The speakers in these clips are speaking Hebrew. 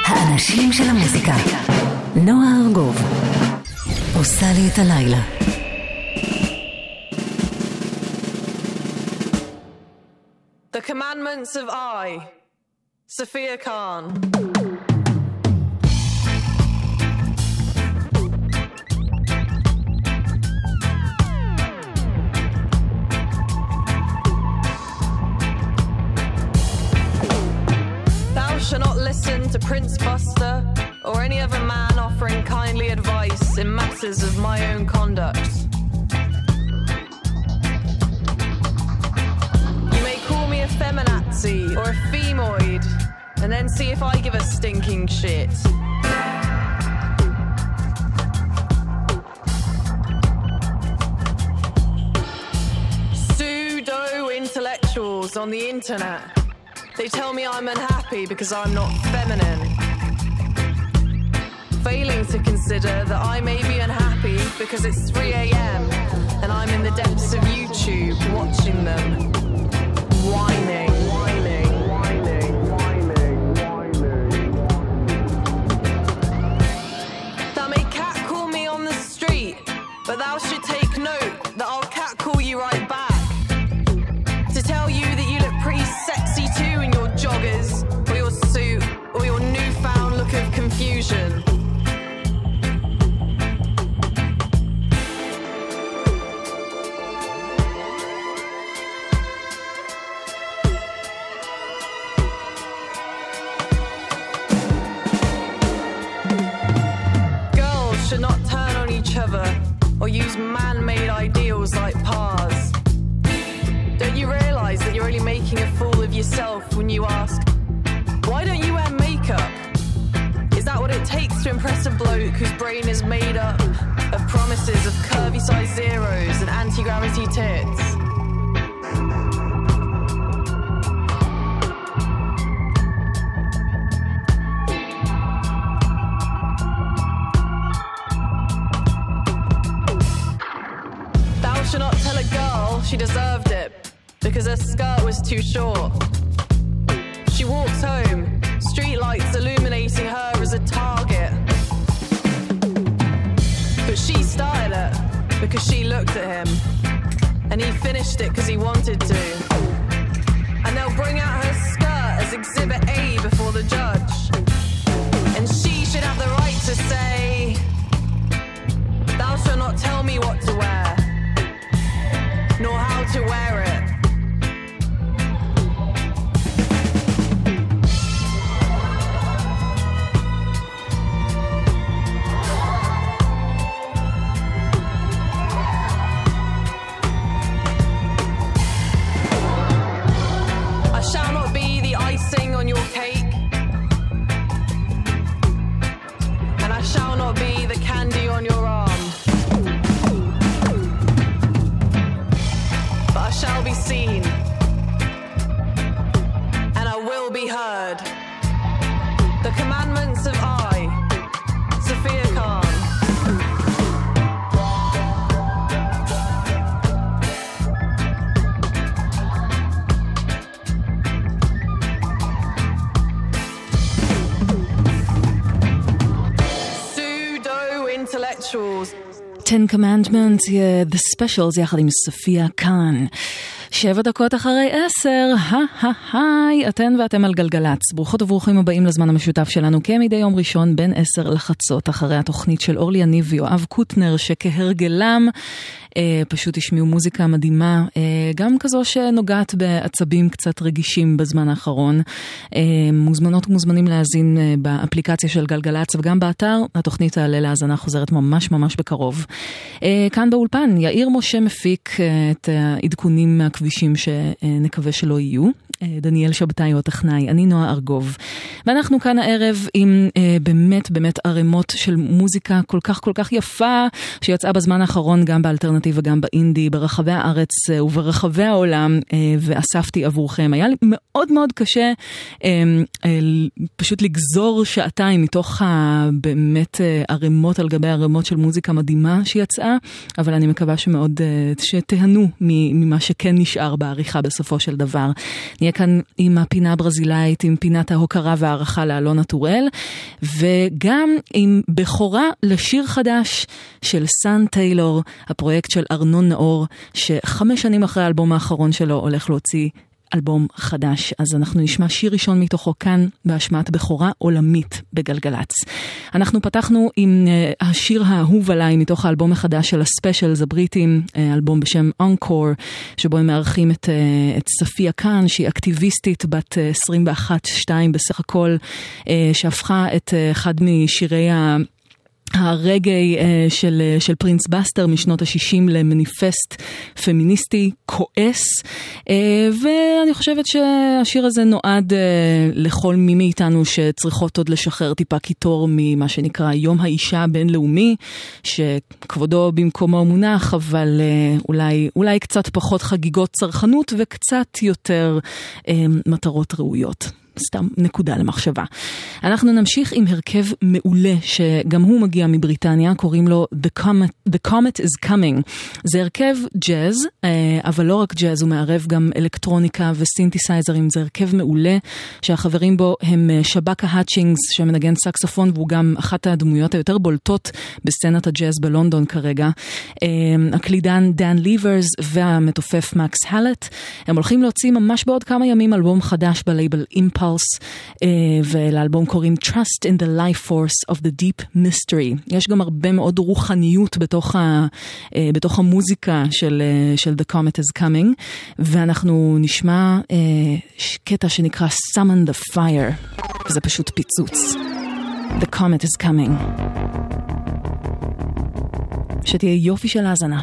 האנשים של המוזיקה. נועה ארגוב עושה לי את הלילה. The Commandments of I, Sophia Khan. Thou shalt not listen to Prince Buster or any other man offering kindly advice in matters of my own conduct. A feminazi or a femoid and then see if I give a stinking shit. Pseudo-intellectuals on the internet, they tell me I'm unhappy because I'm not feminine, failing to consider that I may be unhappy because it's 3 a.m. and I'm in the depths of YouTube watching them whining, whining, whining, whining, whining. Thou may catcall me on the street, but thou should take note that I'll catcall you right back to tell you that you look pretty sexy too in your joggers or your suit or your newfound look of confusion. Or use man-made ideals like pars. Don't you realize that you're only making a fool of yourself when you ask, why don't you wear makeup? Is that what it takes to impress a bloke whose brain is made up of promises of curvy size zeros and anti-gravity tits? Should not tell a girl she deserved it because her skirt was too short. She walks home, streetlights illuminating her as a target. But she started it because she looked at him, and he finished it because he wanted to. And they'll bring out her skirt as Exhibit A before the judge, and she should have the right to say, thou shalt not tell me what to wear nor how to wear it. I shall not be the icing on your cake, and I shall not be the candy on your arm. I shall be seen, and I will be heard. The Commandments of I, Sophia Khan. Pseudo-intellectuals. 10 Commandments, The Specials, יחד עם סופיה קאן. 7 דקות אחרי 10, היי, אתן ואתם על גלגלץ. ברוכות וברוכים הבאים לזמן המשותף שלנו, כמדי יום ראשון בין 10 לחצות, אחרי התוכנית של אורלי יניב ויואב קוטנר, שכהרגלם פשוט השמיעו מוזיקה מדהימה, גם כזו שנוגעת בעצבים קצת רגישים בזמן האחרון. מוזמנות ומוזמנים להאזין באפליקציה של גלגלץ וגם באתר. התוכנית תעלה להאזנה חוזרת ממש ממש בקרוב. כאן באולפן יאיר משה מפיק את העדכונים מהכבישים שנקווה שלא יהיו. דניאל שבתאי הוא הטכנאי, אני נועה ארגוב. ואנחנו כאן הערב עם באמת ערימות של מוזיקה כל כך יפה, שיצאה בזמן האחרון גם באלטרנטיב וגם באינדי, ברחבי הארץ וברחבי העולם, ואספתי עבורכם. היה לי מאוד קשה פשוט לגזור שעתיים מתוך באמת ערימות על גבי ערימות של מוזיקה מדהימה שיצאה, אבל אני מקווה שמאוד שתהנו ממה שכן נשאר בעריכה בסופו של דבר. נהיה נהיה כאן עם הפינה הברזילאית, עם פינת ההוקרה והערכה לאלונה טורל, וגם עם בכורה לשיר חדש של סן טיילור, הפרויקט של ארנון נאור, ש5 שנים אחרי האלבום האחרון שלו הולך להוציא אלבום חדש. אז אנחנו נשמע שיר ראשון מתוכו כאן בהשמעת בכורה עולמית בגלגלץ. אנחנו פתחנו עם השיר האהוב עליי מתוך האלבום החדש של הספיישלס הבריטים, אלבום בשם אנקור, שבו הם מארחים את ספיה קאן, שהיא אקטיביסטית בת 21-2 בסך הכל, שהפכה את אחד משירי הרגעי של פרינס בסטר משנות ה-60 למניפסט פמיניסטי כועס, ואני חושבת שהשיר הזה נועד לכל מי מאיתנו שצריכות עוד לשחרר טיפה קיטור ממה שנקרא יום האישה הבינלאומי, שכבודו במקומו מונח, אבל אולי קצת פחות חגיגות צרכנות וקצת יותר מטרות ראויות. סתם נקודה למחשבה. אנחנו נמשיך עם הרכב מעולה שגם הוא מגיע מבריטניה, קוראים לו The Comet is Coming. זה הרכב ג'אז, אבל לא רק ג'אז, הוא מערב גם אלקטרוניקה וסינתסייזרים. זה הרכב מעולה שהחברים בו הם שבקה האצ'ינגס שמנגן סקסופון, והוא גם אחת הדמויות היותר בולטות בסצנת הג'אז בלונדון כרגע. הקלידן דן ליברס והמתופף מקס הלט. הם הולכים להוציא ממש בעוד כמה ימים אלבום חדש בלייבל אימפלס, ולאלבום קוראים Trust in the Life Force of the Deep Mystery. יש גם הרבה מאוד רוחניות בתוך המוזיקה של The Comet is Coming, ואנחנו נשמע קטע שנקרא Summon the Fire. זה פשוט פיצוץ. The Comet is Coming. שתהיה יופי של האזנה.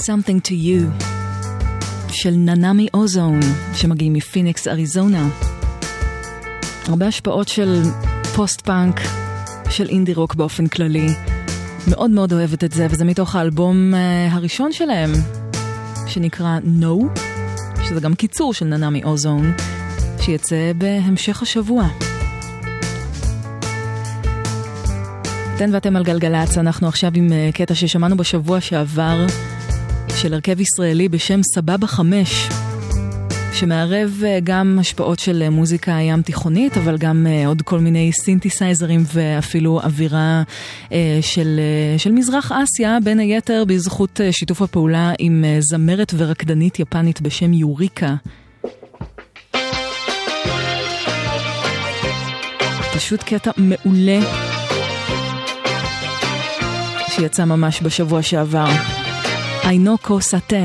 Something to You של ננמי אוזון שמגיעים מפיניקס אריזונה. הרבה השפעות של פוסט פאנק, של אינדי רוק באופן כללי. מאוד מאוד אוהבת את זה, וזה מתוך האלבום הראשון שלהם שנקרא No, שזה גם קיצור של ננמי אוזון, שיצא בהמשך השבוע. אתן ואתם על גלגלץ, אנחנו עכשיו עם קטע ששמענו בשבוע שעבר של הרכב ישראלי בשם סבבה 5, שמערב גם השפעות של מוזיקה ים תיכונית, אבל גם עוד כל מיני סינתסייזרים ואפילו אווירה של מזרח אסיה, בין היתר בזכות שיתוף הפעולה עם זמרת ורקדנית יפנית בשם יוריקה. פשוט קטע מעולה שיצא ממש בשבוע שעבר. איינוקו סטן.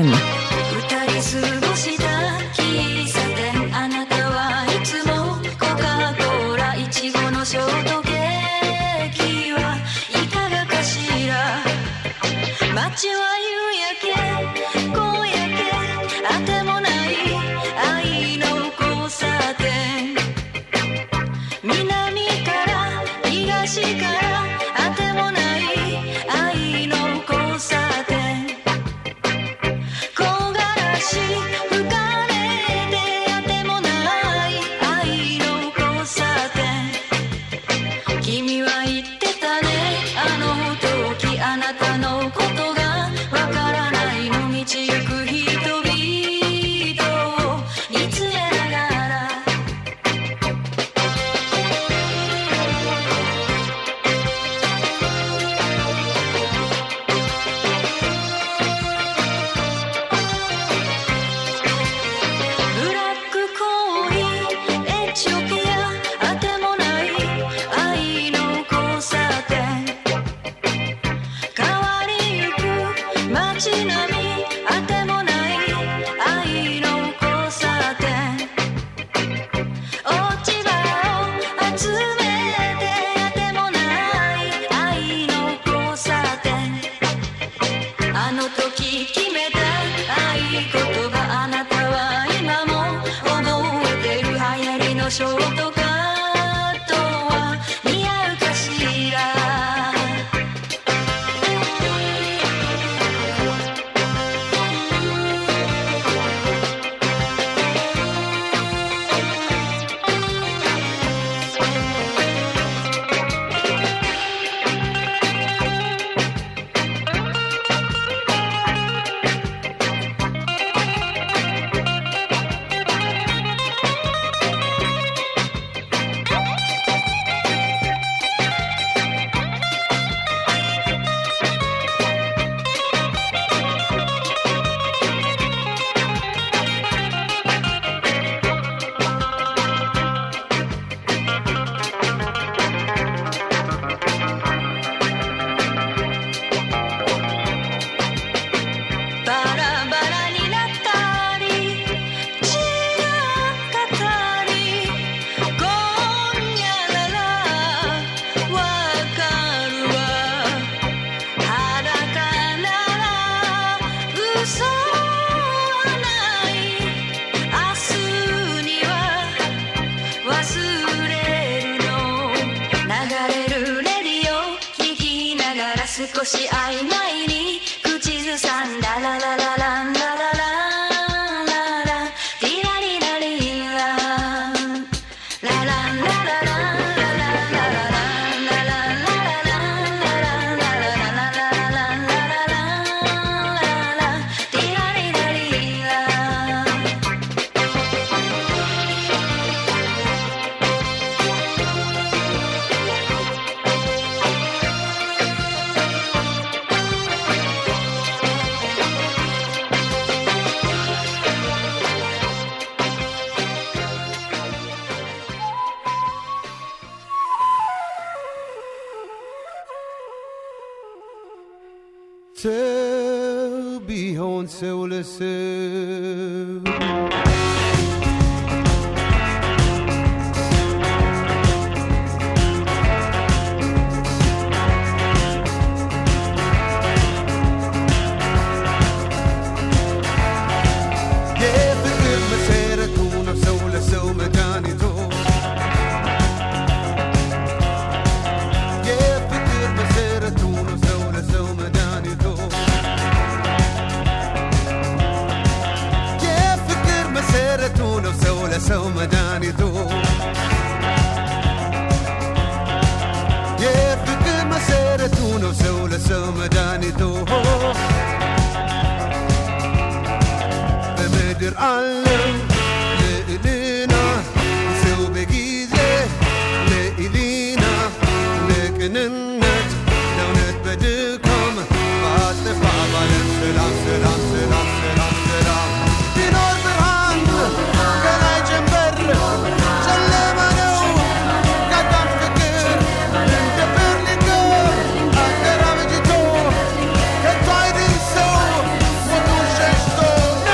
מתעלם לאלינה זהו בגיזה לאלינה לקננת נונת בדקום ואת לפעבלם סלם סלם סלם סלם סלם דינור ברהן גלי ג'מבר שלם ענו קטן פקר דבר לגור אקרה וג'יתו כתויד אינסו מותו ששתו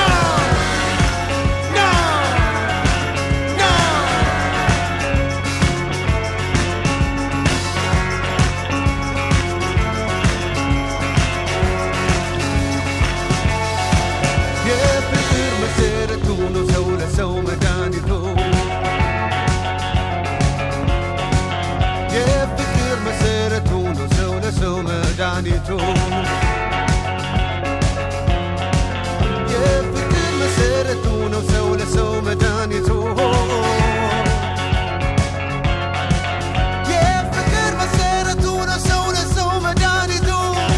Danito يفكر مسيرتنا وسولة سومة دانيتو يفكر مسيرتنا وسولة سومة دانيتو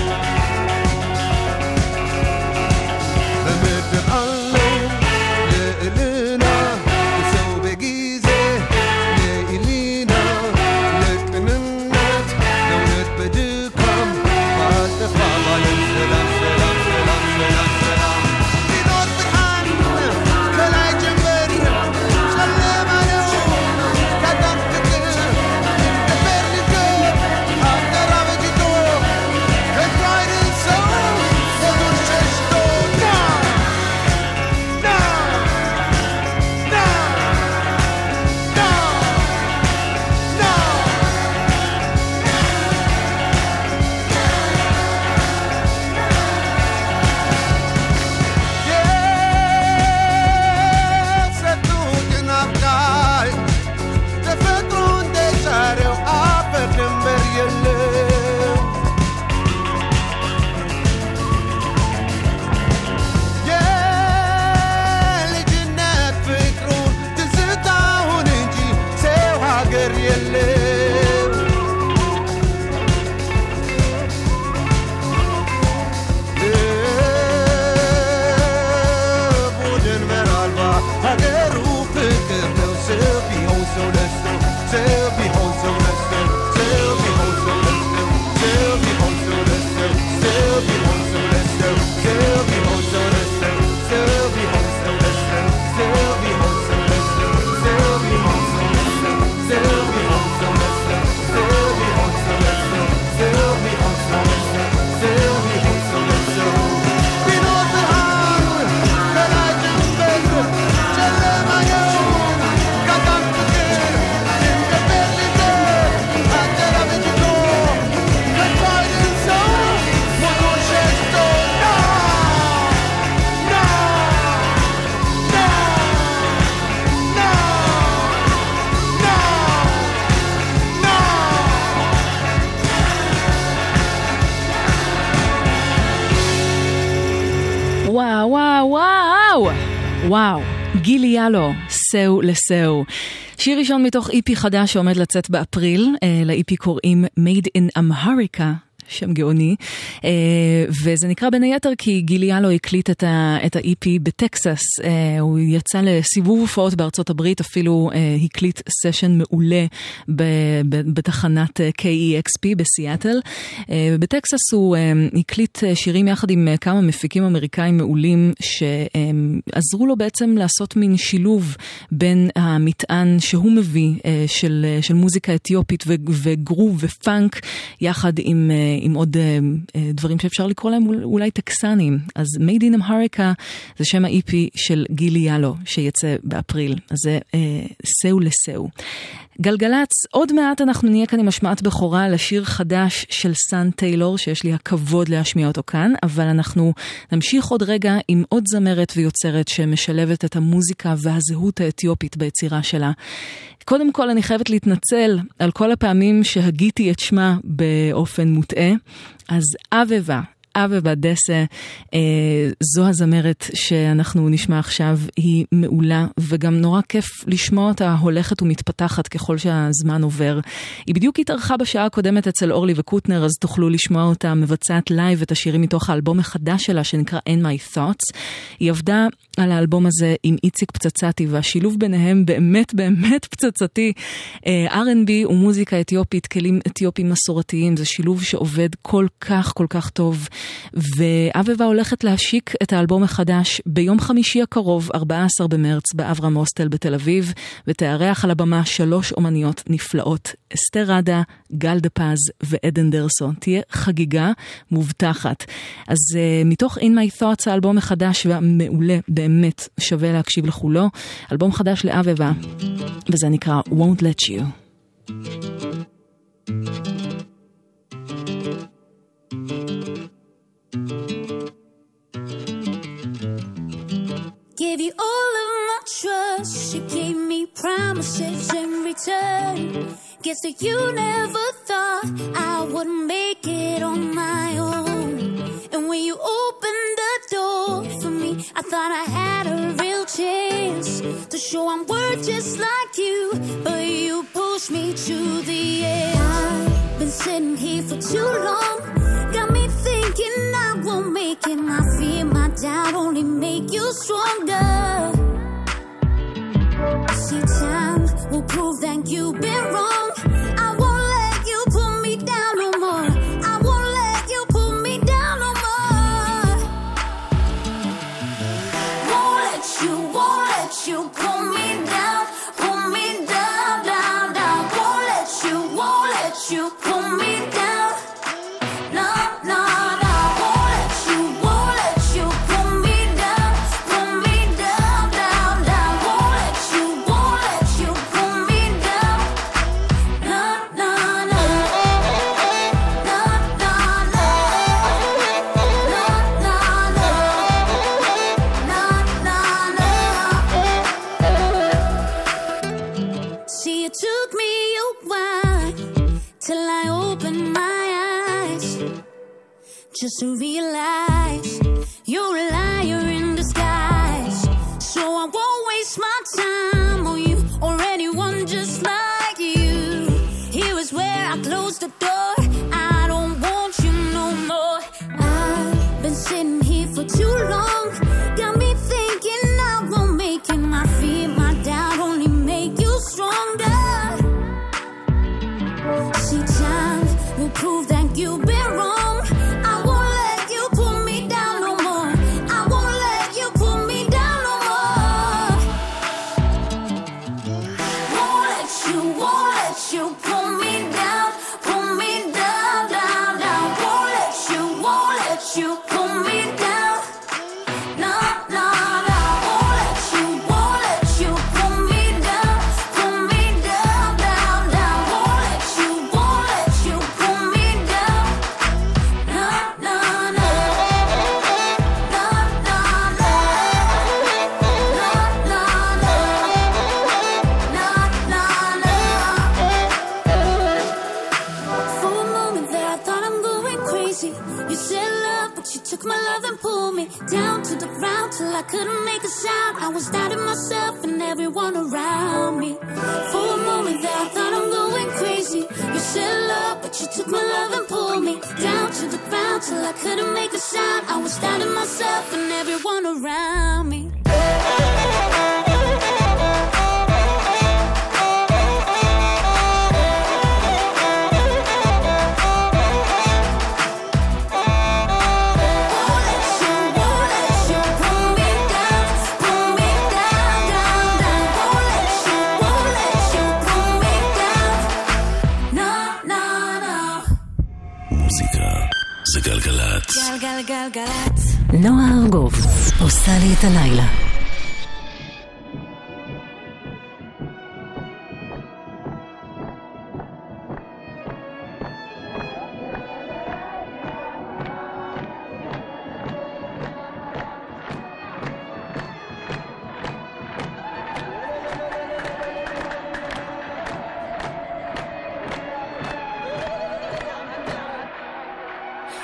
بمد الألو لإلينا وسو بجيزة لإلينا لكننت دونت بدك سلام سلام سلام سلام سلام دينور بالحن كلاي جنبر سلم عليو كدم فكر دبر لك أقدر أبجيتو كترايد السو ودور ششتو نا نا نا نا نا וואו, וואו, וואו. וואו, גילי ילו, סאו לסאו. שיר ראשון מתוך איפי חדש שעומד לצאת באפריל, לאיפי קוראים Made in America. שם גאוני, וזה נקרא בין היתר כי גילי ילו הקליט את ה-EP בטקסס, הוא יצא לסיבוב הופעות בארצות הברית, אפילו הקליט סשן מעולה בתחנת KEXP בסיאטל, בטקסס הוא הקליט שירים יחד עם כמה מפיקים אמריקאים מעולים שעזרו לו בעצם לעשות מין שילוב בין המטען שהוא מביא של מוזיקה אתיופית וגרוב ופאנק יחד עם עוד דברים שאפשר לקרוא להם אולי טקסנים. אז Made in America זה שם ה-EP של גילי ילו שיצא באפריל. אז זה סאו לסאו. גלגלץ, עוד מעט אנחנו נהיה כאן עם השמעת בכורה לשיר חדש של סאן טיילור, שיש לי הכבוד להשמיע אותו כאן, אבל אנחנו נמשיך עוד רגע עם עוד זמרת ויוצרת שמשלבת את המוזיקה והזהות האתיופית ביצירה שלה. קודם כל אני חייבת להתנצל על כל הפעמים שהגיתי את שמה באופן מוטעה, אז אבבה, אבבה דסה, זו הזמרת שאנחנו נשמע עכשיו, היא מעולה, וגם נורא כיף לשמוע אותה הולכת ומתפתחת ככל שהזמן עובר. היא בדיוק התארחה בשעה הקודמת אצל אורלי וקוטנר, אז תוכלו לשמוע אותה מבצעת לייב את השירים מתוך האלבום החדש שלה שנקרא In My Thoughts. היא עבדה על האלבום הזה עם איציק פצצתי, והשילוב ביניהם באמת באמת פצצתי. R&B ומוזיקה אתיופית, כלים אתיופיים מסורתיים, זה שילוב שעובד כל כך כל כך טוב. ואבבה הולכת להשיק את האלבום החדש ביום חמישי הקרוב, 14 במרץ, באברהם הוסטל בתל אביב, ותארח על הבמה 3 אומניות נפלאות, אסתר רדה, גל דה פז ועדן דרסו. תהיה חגיגה מובטחת. אז מתוך In My Thoughts, האלבום החדש והמעולה, באמת שווה להקשיב לכולו. אלבום חדש לאבבה, וזה נקרא Won't Let You. Gave you all of my trust, you gave me promises in return. Guess that you never thought I would make it on my own. And when you opened the door for me, I thought I had a real chance to show I'm worth just like you, but you pushed me to the end. I've been sitting here for too long, got me thinking I won't make it. My fear, my doubt only make you stronger. See, time will prove that you've been wrong. I won't let you put me down no more. I won't let you put me down no more. Won't let you pull me down, down, down. Won't let you pull me down. No, no, no. Won't let you pull me down, down, down. Won't let you pull me down. No, no, no. No, no, no. No, no, no. No, no, no. See, it took me a while till I opened my eyes, just to realize you're a liar in disguise. So I won't waste my time on you or anyone just like you. Here is where I close the door. I don't want you no more. I've been sitting here for too long, got me thinking I won't make it. My fear, my doubt only make you stronger. See, time will prove that you've been wrong. I won't let you pull me down no more. I won't let you pull me down no more. Won't let you pull me down, down, down. Won't let you pull me down. No, no, no. Won't let you pull me down, down, down. Won't let you pull me down. No, no, no. No, no, no. No, no, no. No, no, no. For a moment there I thought I'm going crazy. You said love, but you took my love and pulled me down to the ground till I couldn't make a sound. I was doubting myself and everyone around me. For a moment there I thought I'm going crazy. You said love, but you took my love and pulled me down to the ground till I couldn't make a sound. I was doubting myself and everyone around me. גלגלצ. נועה ארגוב עושה לי את הלילה.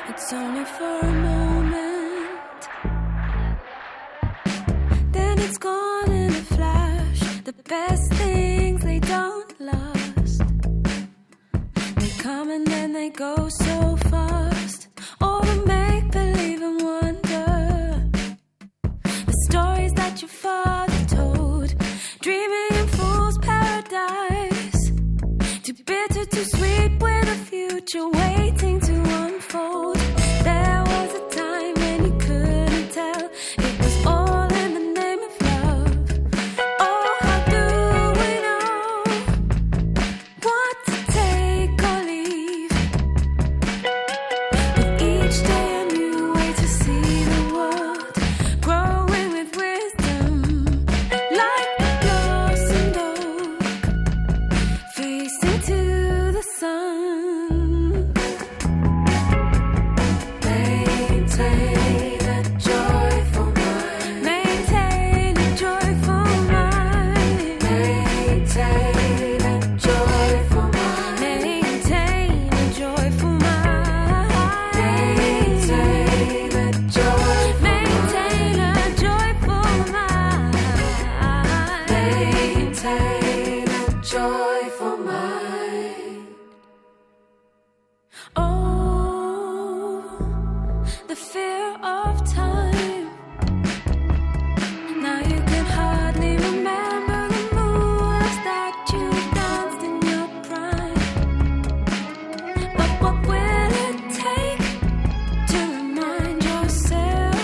It's only for a moment, then it's gone in a flash. The best things, they don't last. They come and then they go so fast. All the make-believe and wonder, the stories that your father told, dreaming in fool's paradise. Too bitter, too sweet, with a future waiting to unfold. There was a time when you couldn't tell, it was all in the name of love. Oh, how do we know what to take or leave? With each day a new way to see the world, growing with wisdom, like the blossomed oak, facing to the sun. Maintain a joyful mind. Maintain a joyful mind. Maintain a joyful mind. Maintain a joyful mind. Maintain a joyful mind. Maintain a joyful mind. Maintain a joyful mind. Oh, the fear of time. Now you can hardly remember the moves that you danced in your prime. But what will it take to remind yourself?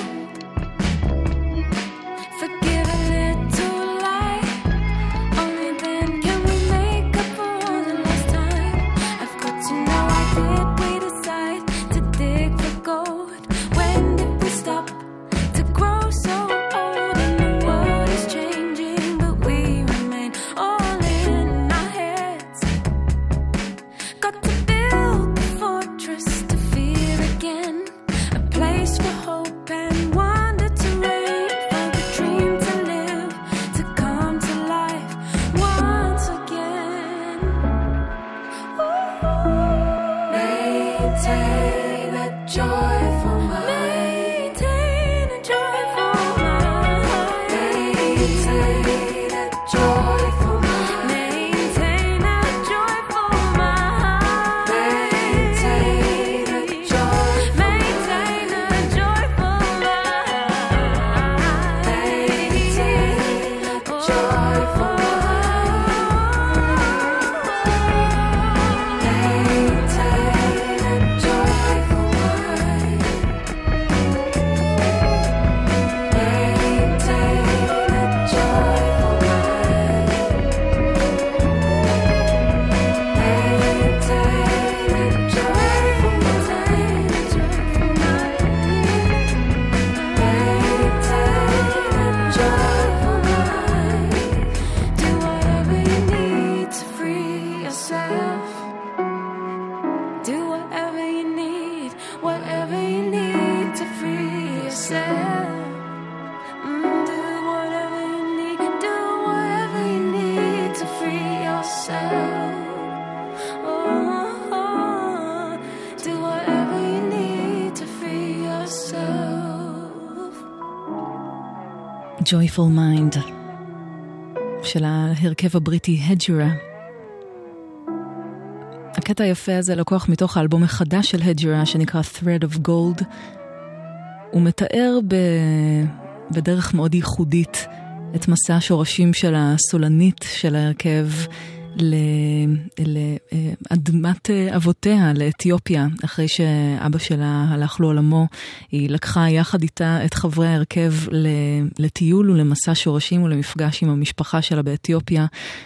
Forgive a little lie. Only then can we make up for all the lost time. I've got to know, why did we decide to dig for gold? When did we stop to grow so old? And the world is changing, but we remain all in our heads. Got to build the fortress to fear again, a place for hope and wonder to reign, for the dream to live, to come to life once again. Maintain a joyful mind. Maintain a joyful mind. Maintain a joyful mind. Maintain a joyful mind. Maintain a joyful mind. Maintain a joyful mind. Maintain a joyful mind. Do whatever you need to free yourself. Do whatever you need to free yourself. Do whatever you need to free yourself. Oh, do whatever you need to free yourself. Joyful Mind של ההרכב הבריטי הג'רה. הקטע היפה הזה לקוח מתוך האלבום החדש של הג'רה שנקרא Thread of Gold. הוא מתאר בדרך מאוד ייחודית את מסע השורשים של הסולנית של ההרכב לאדמת אבותיה, לאתיופיה. אחרי שאבא שלה הלך לעולמו, היא לקחה יחד איתה את חברי ההרכב לטיול ולמסע שורשים ולמפגש עם המשפחה שלה באתיופיה,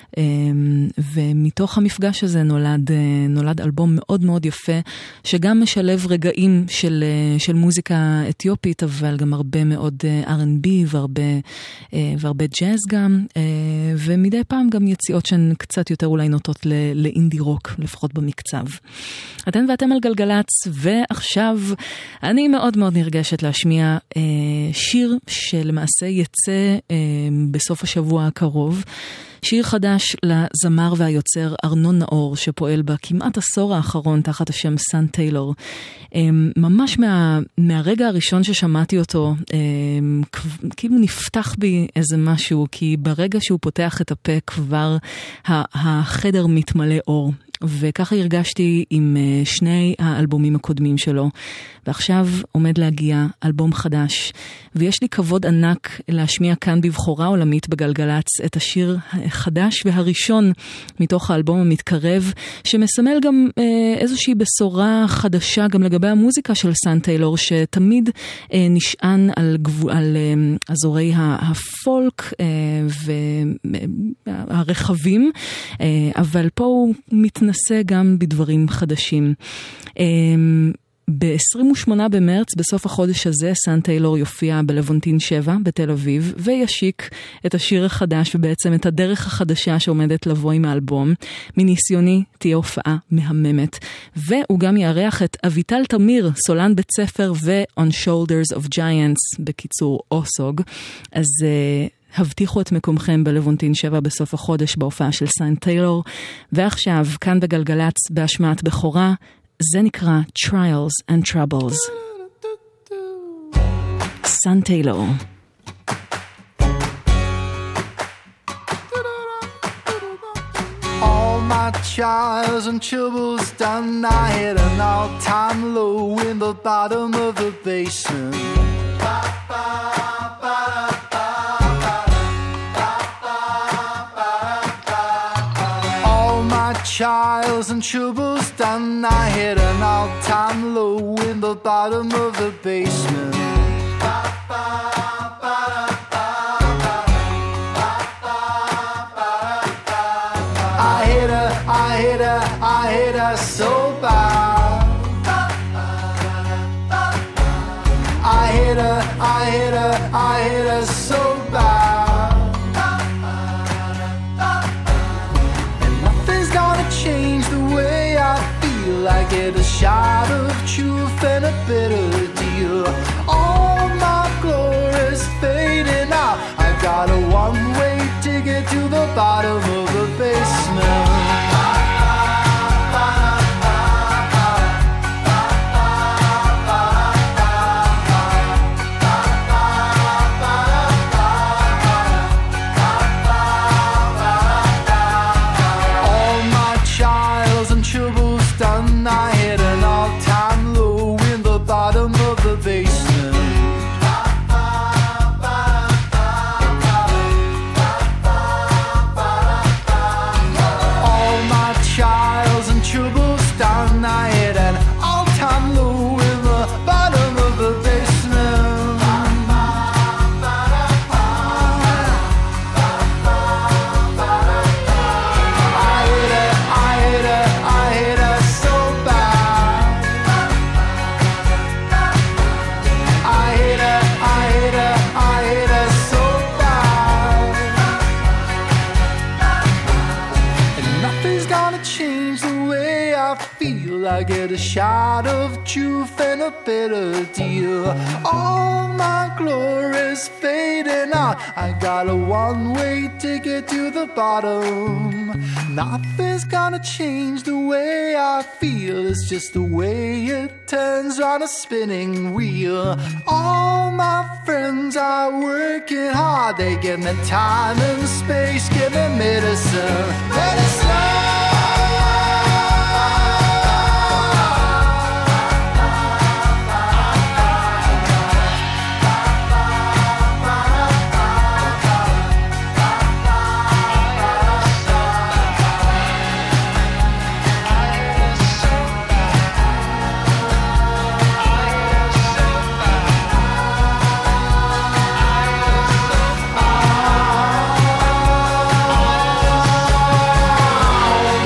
ומתוך המפגש הזה נולד אלבום מאוד מאוד יפה, שגם משלב רגעים של מוזיקה אתיופית, אבל גם הרבה מאוד R&B והרבה ג'אז גם, ומדי פעם גם יציאות שהן קצת יותר אולי נוטות לאינדי רוק, לפחות במקצב. אתן ואתם על גלגלץ, ועכשיו אני מאוד מאוד נרגשת להשמיע שיר שלמעשה יצא בסוף השבוע הקרוב, שיר חדש לזמר והיוצר ארנון נאור, שפועל בכמעט עשור האחרון תחת השם סן טיילור. ממש מהרגע הראשון ששמעתי אותו, כאילו נפתח בי איזה משהו, כי ברגע שהוא פותח את הפה כבר החדר מתמלא אור. וככה הרגשתי עם שני האלבומים הקודמים שלו, ועכשיו עומד להגיע אלבום חדש, ויש לי כבוד ענק להשמיע כאן בבחורה עולמית בגלגלץ את השיר החדש והראשון מתוך האלבום המתקרב, שמסמל גם איזושהי בשורה חדשה גם לגבי המוזיקה של סאן טיילור, שתמיד נשען על אזורי הפולק והרחבים, אבל פה הוא מתנסה גם בדברים חדשים. ב-28 במרץ, בסוף החודש הזה, סאן טיילור יופיע בלוונטין 7 בתל אביב, וישיק את השיר החדש, ובעצם את הדרך החדשה שעומדת לבוא עם האלבום. מניסיוני תהיה הופעה מהממת. והוא גם יארח את אביטל תמיר, סולן בית ספר ו-On Shoulders of Giants, בקיצור אוסוג. אז הבטיחו את מקומכם בלוונטין 7 בסוף החודש בהופעה של סאן טיילור. ועכשיו, כאן בגלגלץ, בהשמעת בכורה, זה נקרא Trials and Troubles. סאן טיילור. All my trials and troubles done, I hit an all-time low in the bottom of the basement. Trials and troubles done, I hit an all-time low in the bottom of the basement. I hit her so bad. I hit her so bad. Change the way I feel. I get a shot of truth and a bitter deal. All my glory's fading out. I got a one-way ticket to the bottom of the basement. I hit an all-time low in the bottom of the basement. All my trials and troubles done, I hit an all-time low in the bottom of the basement. I hit her so bad. I hit her so bad. And nothing's gonna change the way I feel. I get a shot of truth and a bitter deal. All my glory's fading out. I got a one-way ticket to the bottom. Nothing's gonna change the way I feel. It's just the way it turns round a spinning wheel. All my friends are working hard. They give me time and space, give me medicine. All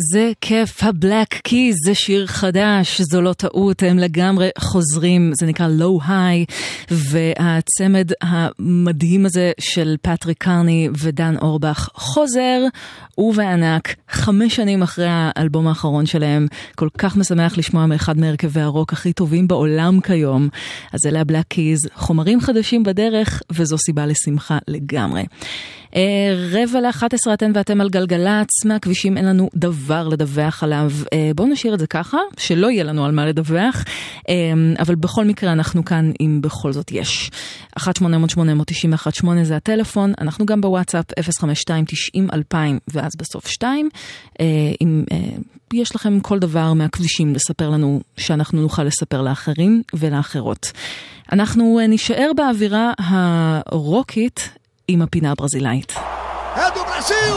זה כיף, הבלק קיז, זה שיר חדש, זו לא טעות, הם לגמרי חוזרים, זה נקרא Low High, והצמד המדהים הזה של פטריק קרני ודן אורבך חוזר, ובענק, 5 שנים אחרי האלבום האחרון שלהם, כל כך משמח לשמוע מאחד מהרכבי הרוק הכי טובים בעולם כיום, אז אלה הבלק קיז, חומרים חדשים בדרך, וזו סיבה לשמחה לגמרי. 10:45 אתן ואתם על גלגלץ, מהכבישים אין לנו דבר לדווח עליו, בואו נשאיר את זה ככה, שלא יהיה לנו על מה לדווח, אבל בכל מקרה אנחנו כאן אם בכל זאת יש. 1-800-891-8 זה הטלפון, אנחנו גם בוואטסאפ 052-90-2000 ואז בסוף 2, אם יש לכם כל דבר מהכבישים לספר לנו שאנחנו נוכל לספר לאחרים ולאחרות. אנחנו נשאר באווירה הרוקית עם הפינה הברזילאית. É do Brasil!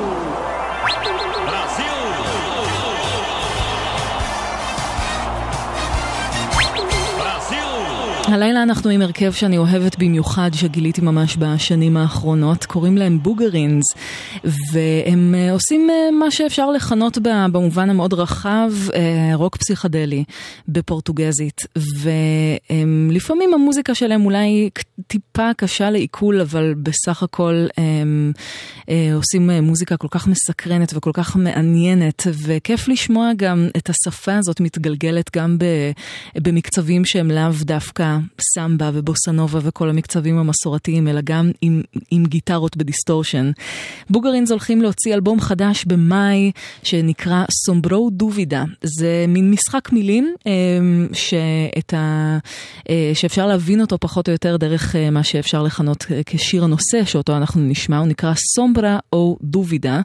הלילה אנחנו עם הרכב שאני אוהבת במיוחד, שגיליתי ממש בשנים האחרונות, קוראים להם בוגרינס, והם עושים מה שאפשר לכנות במובן המאוד רחב, רוק פסיכדלי בפורטוגזית, ולפעמים המוזיקה שלהם אולי טיפה קשה לעיכול, אבל בסך הכל הם עושים מוזיקה כל כך מסקרנת וכל כך מעניינת, וכיף לשמוע גם את השפה הזאת מתגלגלת גם במקצבים שהם לאו דווקא סמבה ובוסנובה וכל המקצבים המסורתיים, אלא גם עם גיטרות בדיסטורשן. בוגרינס הולכים להוציא אלבום חדש במאי, שנקרא סומברו דובידה. זה מין משחק מילים, שאפשר להבין אותו פחות או יותר דרך מה שאפשר לכנות כשיר הנושא, שאותו אנחנו נשמע, הוא נקרא סומברה או דובידה,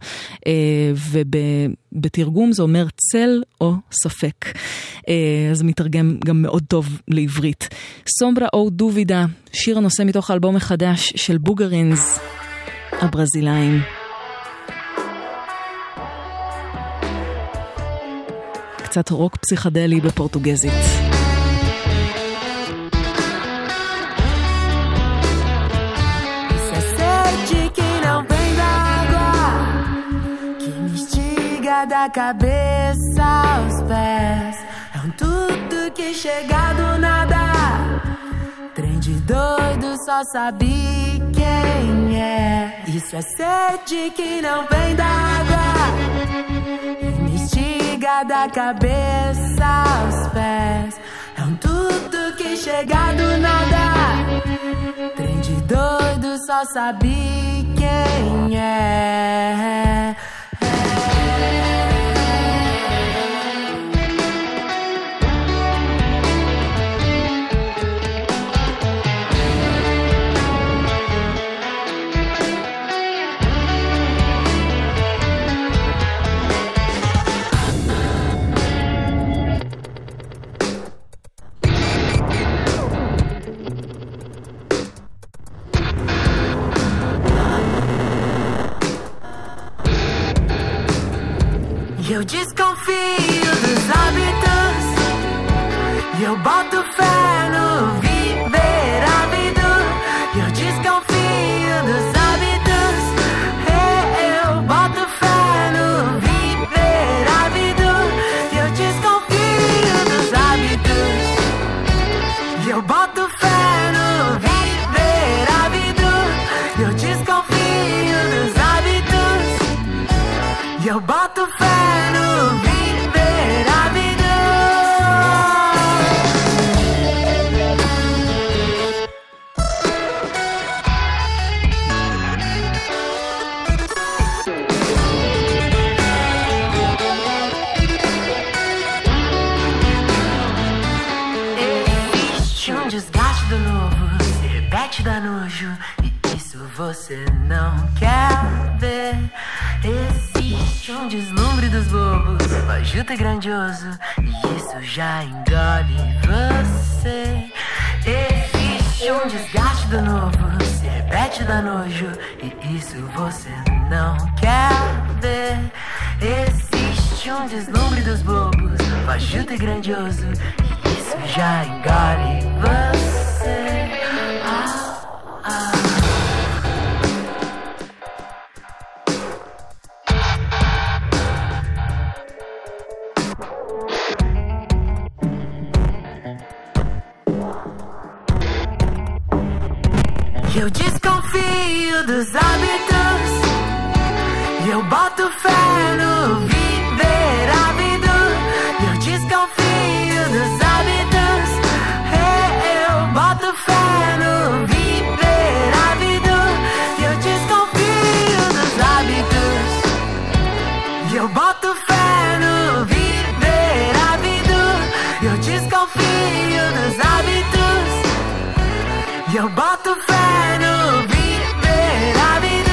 ובתרגום זה אומר צל או ספק. אז מתרגם גם מאוד טוב לעברית. סומברה או דובידה, שיר הנושא מתוך האלבום החדש של בוגרינס, הברזילאים. קצת רוק פסיכדלי בפורטוגזית. Da cabeça aos pés, é tudo que chega do nada. Trem de doido, só sabe quem é. Isso é sede que não vem d'água, me instiga da cabeça aos pés. É tudo que chega do nada. Trem de doido, só sabe quem é. Eu desconfio dos hábitos, eu boto fé no viver ávido. Eu desconfio dos hábitos, eu boto fé no viver ávido. Eu desconfio dos hábitos, eu boto fé no viver ávido. Eu desconfio dos hábitos, eu boto fé. Dá nojo, e isso você não quer ver. Existe um deslumbre dos bobos, fajuto e grandioso, e isso já engole você. Existe um desgaste do novo, se repete, dá nojo, e isso você não quer ver. Existe um deslumbre dos bobos, fajuto e grandioso, e isso já engole você. desconfio dos hábitos e eu boto fé no viver ávido. E eu desconfio dos hábitos, eu boto fé no viver ávido. E eu desconfio dos hábitos e eu boto fé no viver ávido. E eu desconfio dos hábitos e eu boto fé no viver ávido.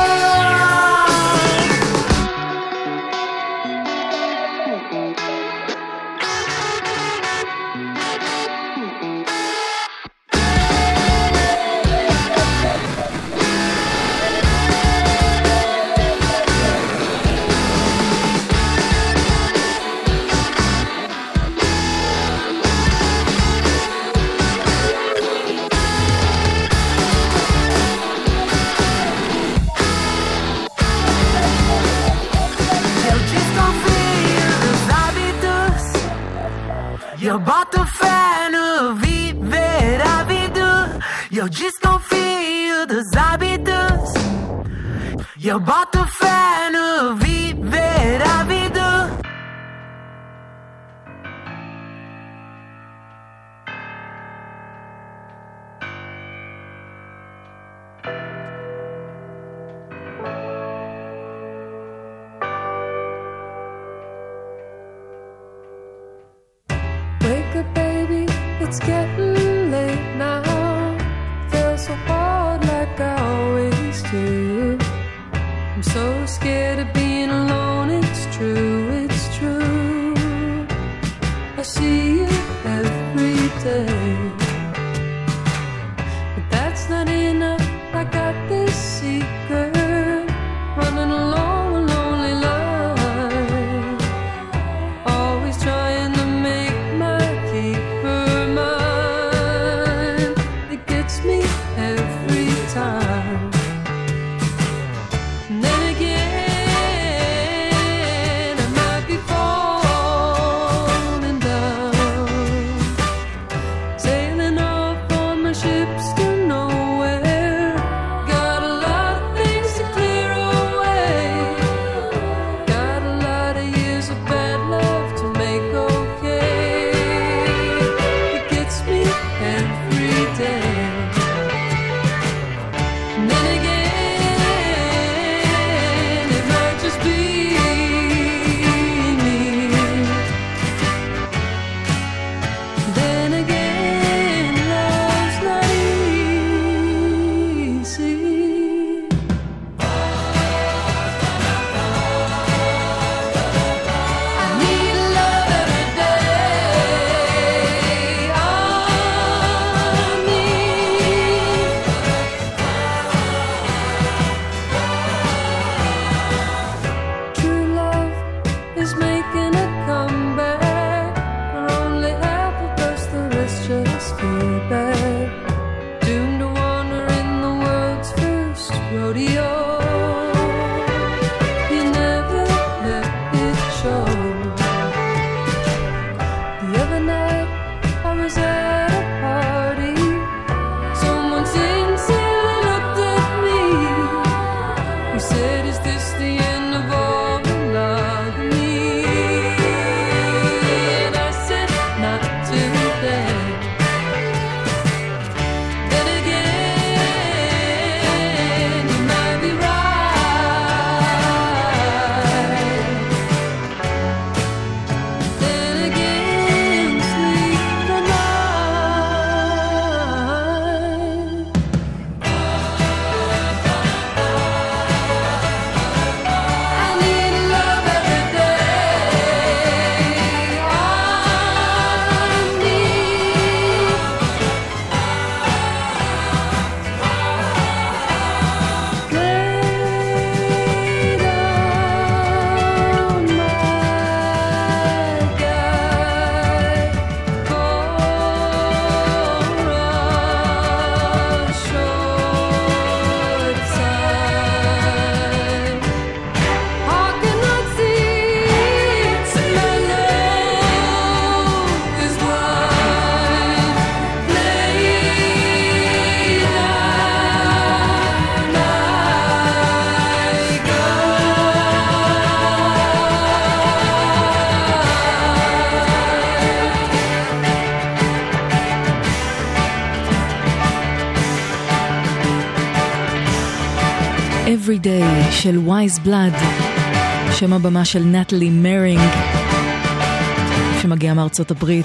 Eu boto fé no viver ávido. E eu desconfio dos hábitos. E eu boto fé no viver ávido. It's getting late now. Feels so hard like I always do. I'm so scared of being alone. It's true, it's true. I see you every day, but that's not enough. I got this secret, running along a lonely line, always trying to make my keeper. Me every time. And then again, I might be falling down, sailing off on my ships to nowhere. Got a lot of things to clear away. Got a lot of years of bad love to make okay. It gets me every day. Every Day של Wise Blood, שם הבמה של נטלי מרינג, שמגיע מארצות הברית.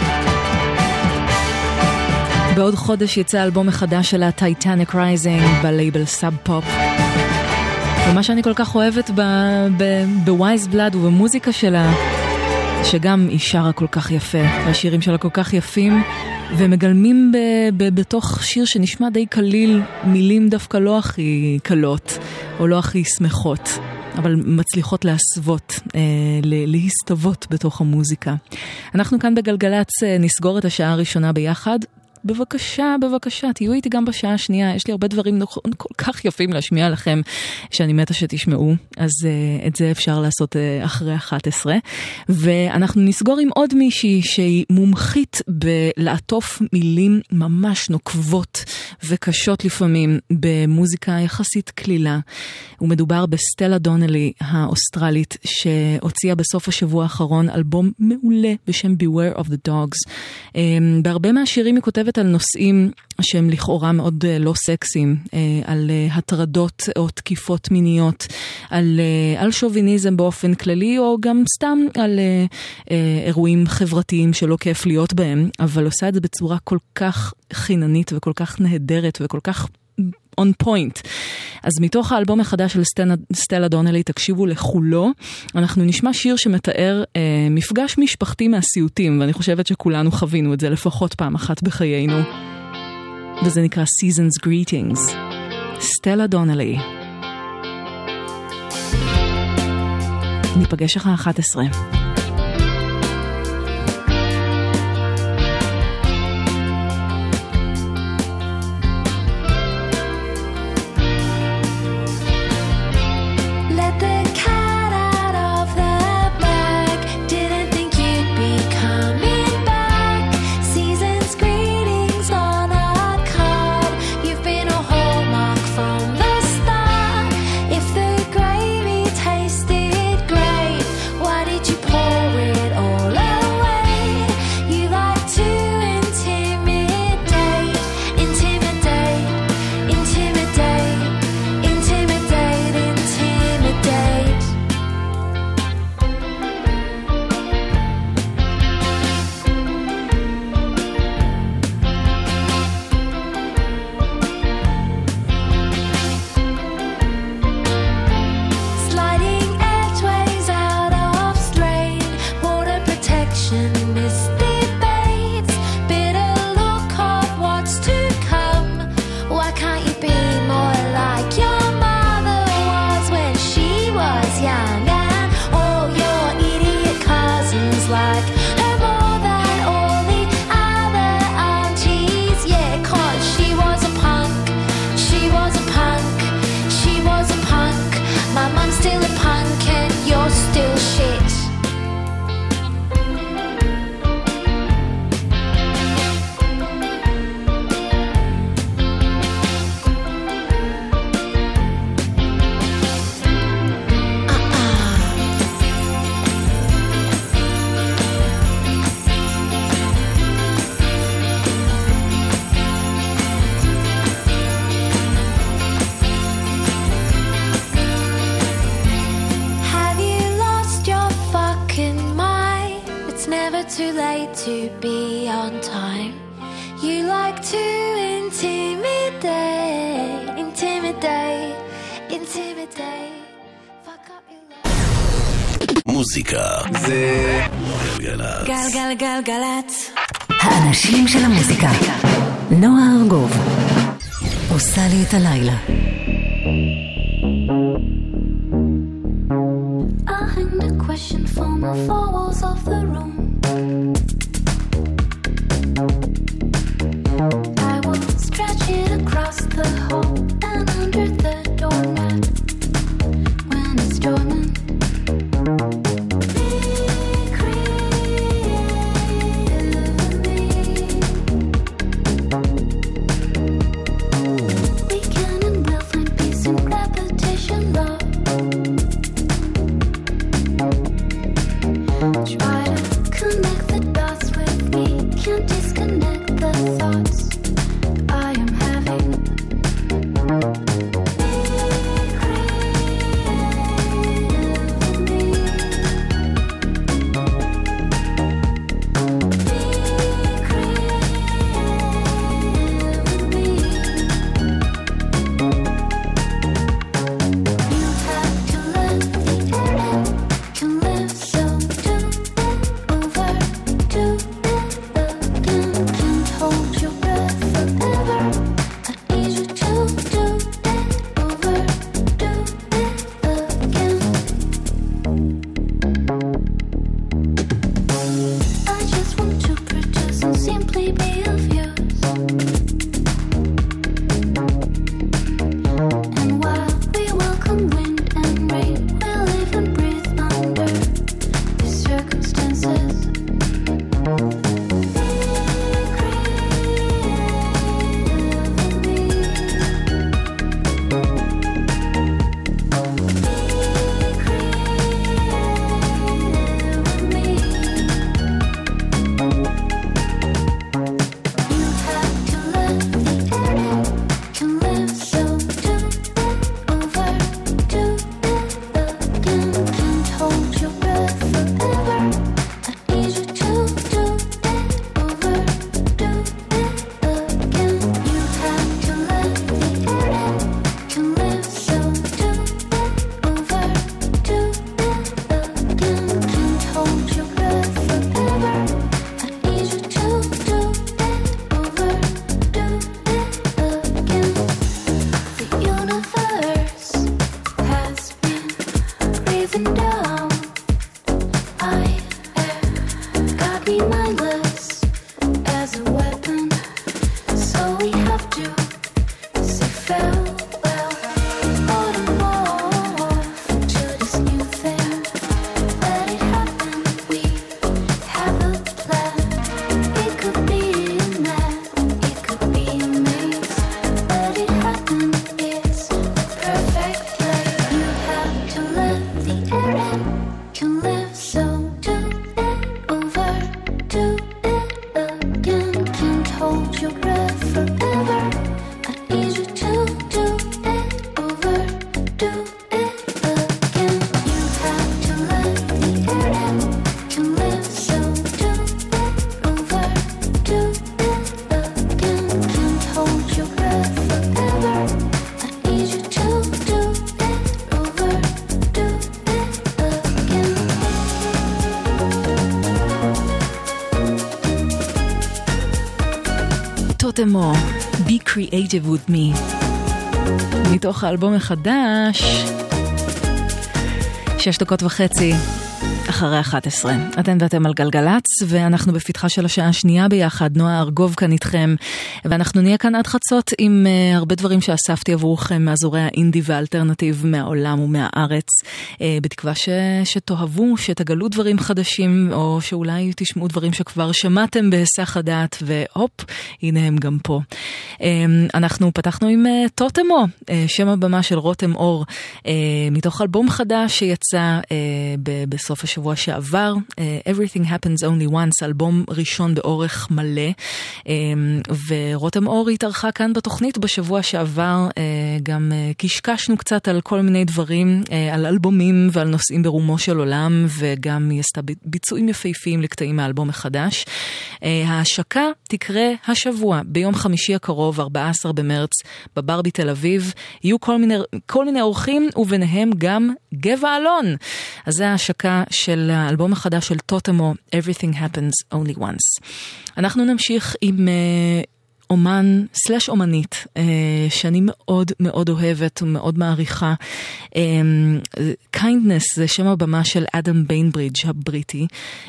בעוד חודש יצא אלבום מחדש שלה, Titanic Rising, בלייבל סאב פופ. ומה שאני כל כך אוהבת בווייז בלאד ובמוזיקה שלה, שגם היא שרה כל כך יפה, והשירים שלה כל כך יפים, ומגלמים בתוך שיר שנשמע די קליל, מילים דווקא לא הכי קלות, או לא הכי שמחות, אבל מצליחות להסוות, להסתוות בתוך המוזיקה. אנחנו כאן בגלגלץ נסגור את השעה הראשונה ביחד. בבקשה, תהיו איתי גם בשעה השנייה, יש לי הרבה דברים כל כך יפים להשמיע לכם, שאני מתה שתשמעו, אז את זה אפשר לעשות אחרי 11, ואנחנו נסגור עם עוד מישהי שהיא מומחית בלעטוף מילים ממש נוקבות וקשות לפעמים, במוזיקה יחסית כלילה, ומדובר בסטלה דונלי האוסטרלית, שהוציאה בסוף השבוע האחרון אלבום מעולה בשם Beware of the Dogs. בהרבה מהשירים היא כותבת על נושאים שהם לכאורה מאוד לא סקסיים, על הטרדות או תקיפות מיניות, על שוביניזם באופן כללי, או גם סתם על אירועים חברתיים שלא כיף להיות בהם, אבל עושה את זה בצורה כל כך חיננית וכל כך נהדרת וכל כך on point. אז מתוך האלבום החדש של סטלה דונלי, תקשיבו לכולו, אנחנו נשמע שיר שמתאר מפגש משפחתי מהסיוטים, ואני חושבת שכולנו חווינו את זה לפחות פעם אחת בחיינו. וזה נקרא Season's Greetings. סטלה דונלי. ניפגש אחרי 11. Too late to be on time. You like to intimidate. Fuck up your life. מוזיקה זה גלגלצ. גלגלצ. האנשים של המוזיקה. נועה ארגוב עושה לי את הלילה. I hang the question from the four walls of the room. I will stretch it across the hall and under the doormat when it's storming. Be creative with me. We can and will find peace in repetition, love. Try to connect the dots with me. Can't disconnect the thoughts I am having. Be טוטמו, Be Creative With Me, מתוך האלבום החדש, 6:30 אחרי 11. אתן ואתם על גלגלץ, ואנחנו בפתחה של השעה השנייה ביחד. נועה ארגוב כאן איתכם, ואנחנו נהיה כאן עד חצות עם הרבה דברים שאספתי עבורכם מאזורי האינדי והאלטרנטיב מהעולם ומהארץ, בתקווה שתאהבו, שתגלו דברים חדשים, או שאולי תשמעו דברים שכבר שמעתם בהיסח הדעת, והופ, הנה הם גם פה. אנחנו פתחנו עם טוטמו, שם הבמה של רותם אור, מתוך אלבום חדש שיצא בסוף השבוע שעבר, Everything Happens Only Once, אלבום ראשון באורך מלא, ורותם אור התארחה כאן בתוכנית בשבוע שעבר, גם קשקשנו קצת על כל מיני דברים, על אלבומים ועל נושאים ברומו של עולם, וגם היא עשתה ביצועים יפהפיים לקטעים מהאלבום החדש. ההשקה תקרה השבוע, ביום חמישי הקרוב, 14 במרץ, בבר בתל אביב. יהיו כל מיני אורחים, וביניהם גם גבע אלון. אז זה ההשקה של האלבום החדש של טוטמו, Everything Happens Only Once. אנחנו נמשיך עם אומן סלש אומנית שאני מאוד מאוד אוהבת ומאוד מעריכה. Kindness זה שם הבמה של אדם ביינברידג' הבריטי,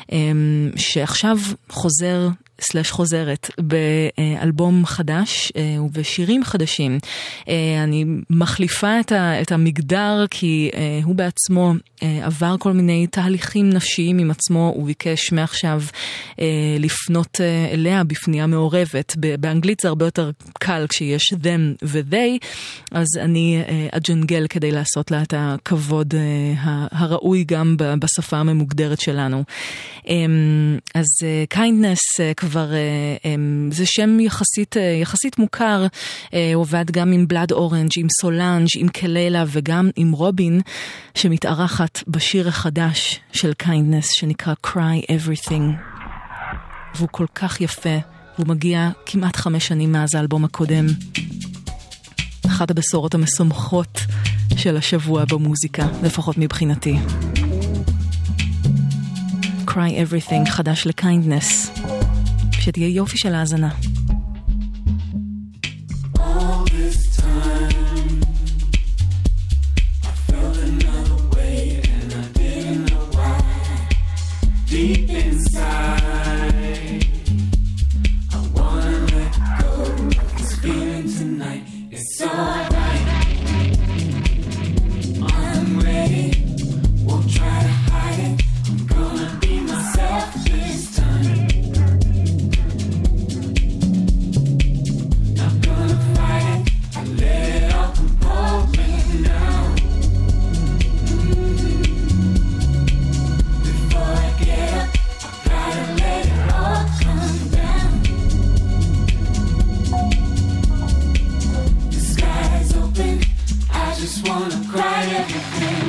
שעכשיו חוזר סלש חוזרת באלבום חדש ובשירים חדשים. אני מחליפה את המגדר, כי הוא בעצמו עבר כל מיני תהליכים נפשיים עם עצמו, הוא ביקש מעכשיו לפנות אליה בפנייה מעורבת. באנגלית זה הרבה יותר קל כשיש them ו-they, אז אני אג'נגל כדי לעשות לה את הכבוד הראוי גם בשפה הממוגדרת שלנו. אז Kindness כבר זה שם יחסית מוכר, הוא עובד גם עם בלאד אורנג', עם סולנג', עם קלילה וגם עם רובין, שמתארחת בשיר החדש של Kindness שנקרא Cry Everything, והוא כל כך יפה, הוא מגיע כמעט 5 שנים מאז האלבום הקודם. אחת הבשורות המשמחות של השבוע במוזיקה, לפחות מבחינתי. Cry Everything חדש ל-Kindness, שתהיה יופי של האזנה. All this time I felt another way and I didn't know why. Deep inside I wanna let go of this feeling tonight. It's alright, I'm ready, won't try to hide it. I'm gonna be myself this time. Not gonna fight it, I let it all compose me now. Before I get up, I gotta let it all come down. The sky's open, I just wanna cry everything.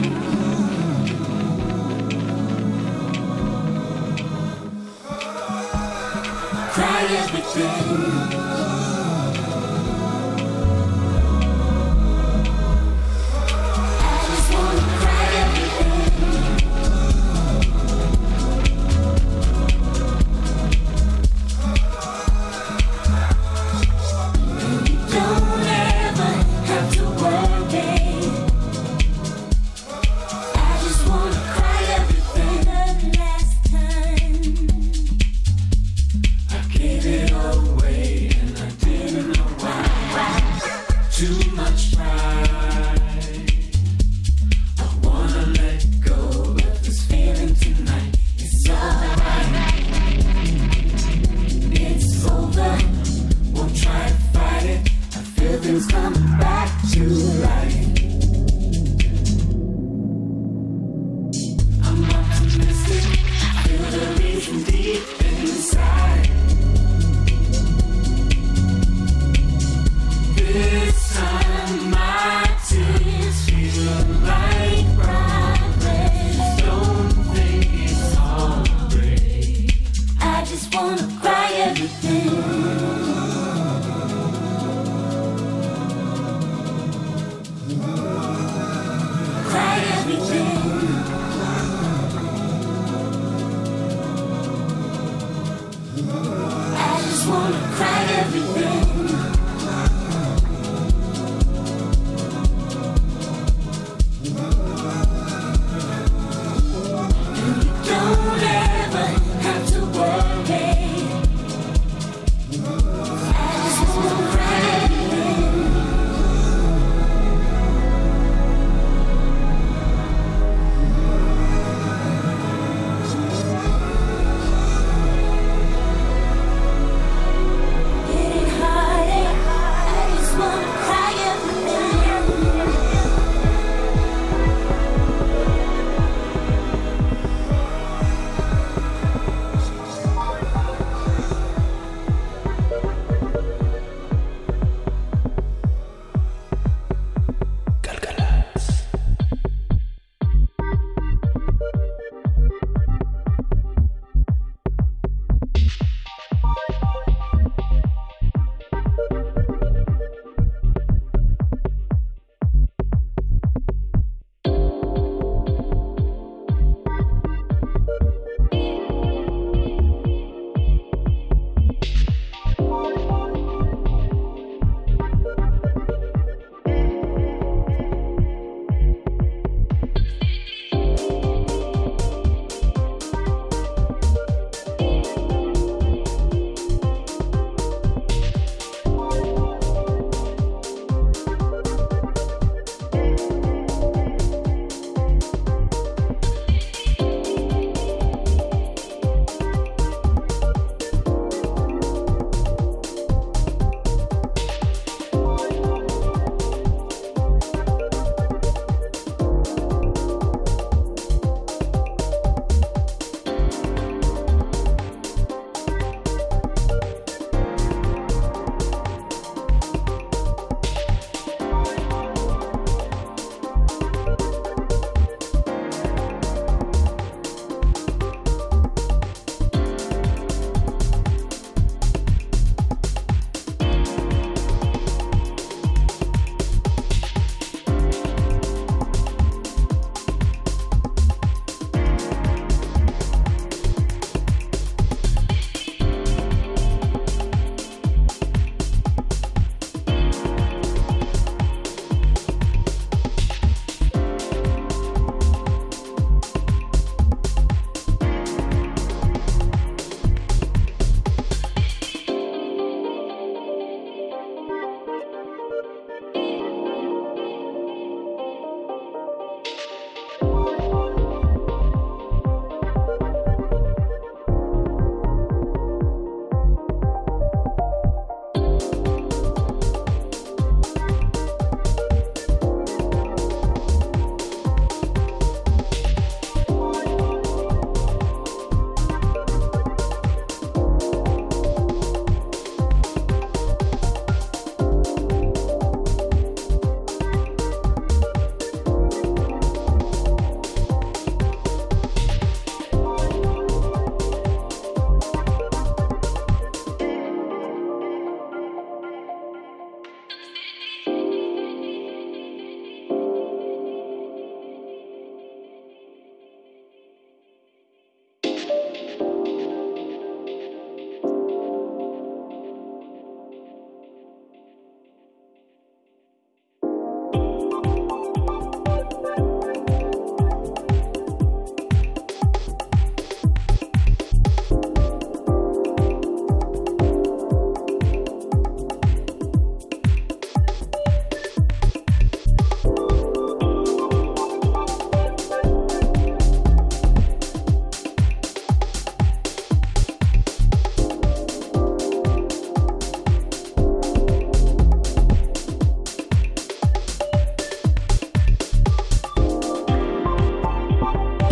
Cry everything. I just wanna cry everything. And you don't ever have to worry. I just wanna cry everything. The last time I gave it all away and I didn't know why. Too much pride. I wanna let go of this feeling tonight. It's alright. It's over. Won't try to fight it. I feel things coming back to life. I'm optimistic. I feel the reason deep inside. This time my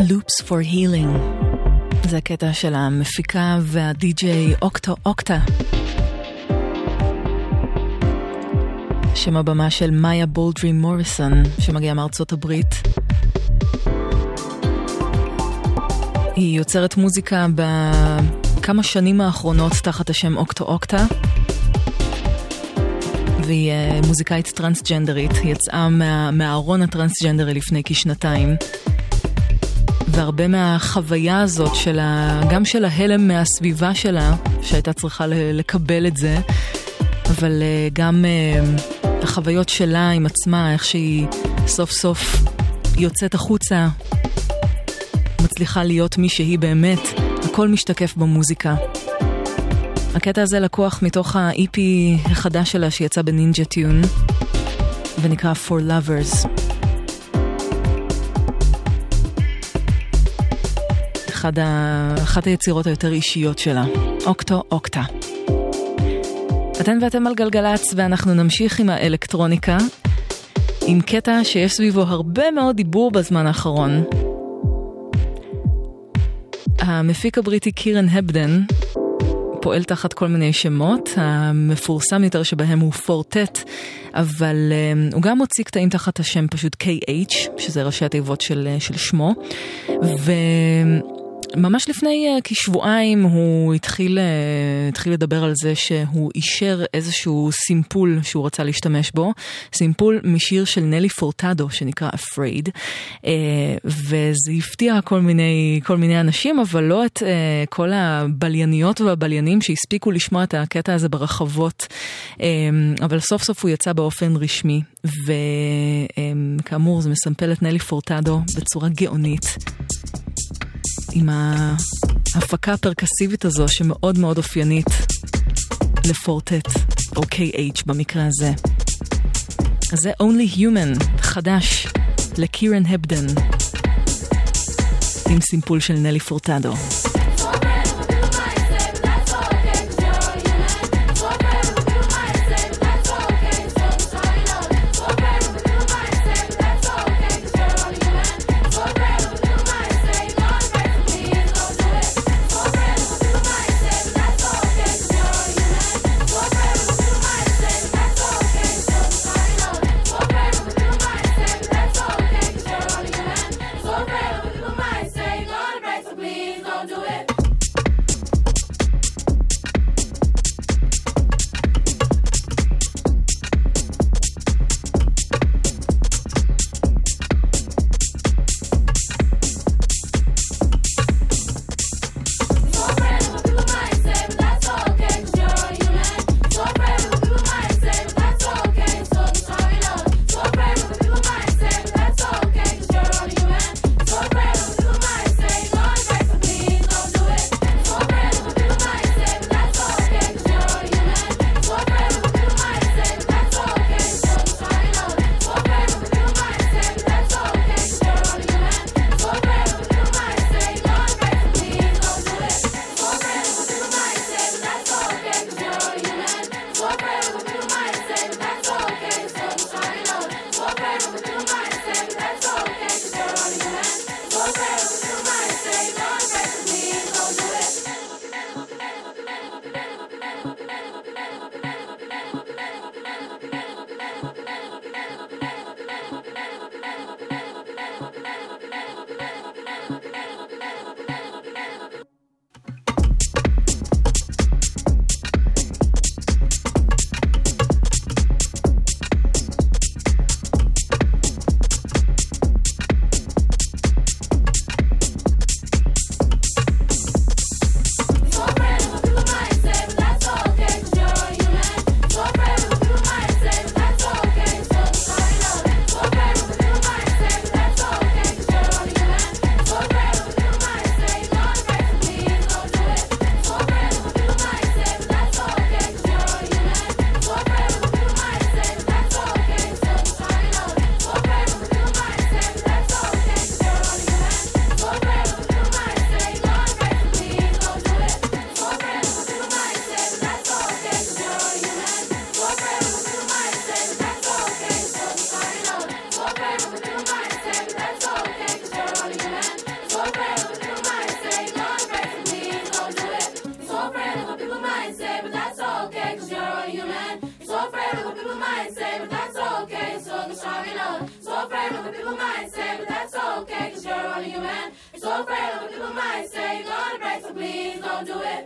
Loops for Healing. זה הקטע של המפיקה והדי-ג'יי אוקטו אוקטה. שם הבמה של מאיה בולדרי מוריסון, שמגיעה מארצות הברית. היא יוצרת מוזיקה בכמה שנים האחרונות תחת השם אוקטו אוקטה. והיא מוזיקאית טרנסג'נדרית. היא יצאה מהארון הטרנסג'נדרי לפני כשנתיים. והרבה מהחוויה הזאת גם של ההלם מהסביבה שלה, שהייתה צריכה לקבל את זה, אבל גם החוויות שלה עם עצמה, איך שהיא סוף סוף יוצאת החוצה, מצליחה להיות מי שהיא באמת, הכל משתקף במוזיקה. הקטע הזה לקוח מתוך ה-EP החדש שלה שיצא בנינג'ה טיון, ונקרא For Lovers. אחת היצירות היותר אישיות שלה, אוקטו אוקטה. אתן ואתם על גלגלץ, ואנחנו נמשיך עם האלקטרוניקה, עם קטע שיש סביבו הרבה מאוד דיבור בזמן האחרון. המפיק הבריטי קירן הבדן פועל תחת כל מיני שמות, המפורסם יותר שבהם הוא פורטט, אבל הוא גם מוציא קטעים תחת השם פשוט KH, שזה ראשי התיבות של שמו, ממש לפני כשבועיים הוא התחיל לדבר על זה שהוא אישר איזשהו סימפול שהוא רצה להשתמש בו, סימפול משיר של נלי פורטדו שנקרא Afraid, וזה הפתיע כל מיני אנשים, אבל לא את כל הבלייניות והבליינים שהספיקו לשמוע את הקטע הזה ברחבות, אבל סוף סוף הוא יצא באופן רשמי, וכאמור זה מסמפל את נלי פורטדו בצורה גאונית, עם ההפקה הפרקסיבית הזו שמאוד מאוד אופיינית לפורטט, או KH במקרה הזה. אז זה Only Human, חדש, לקירן הבדן, עם סימפול של נלי פורטדו. Don't do it. So afraid of what people might say, gonna break, so please don't do it.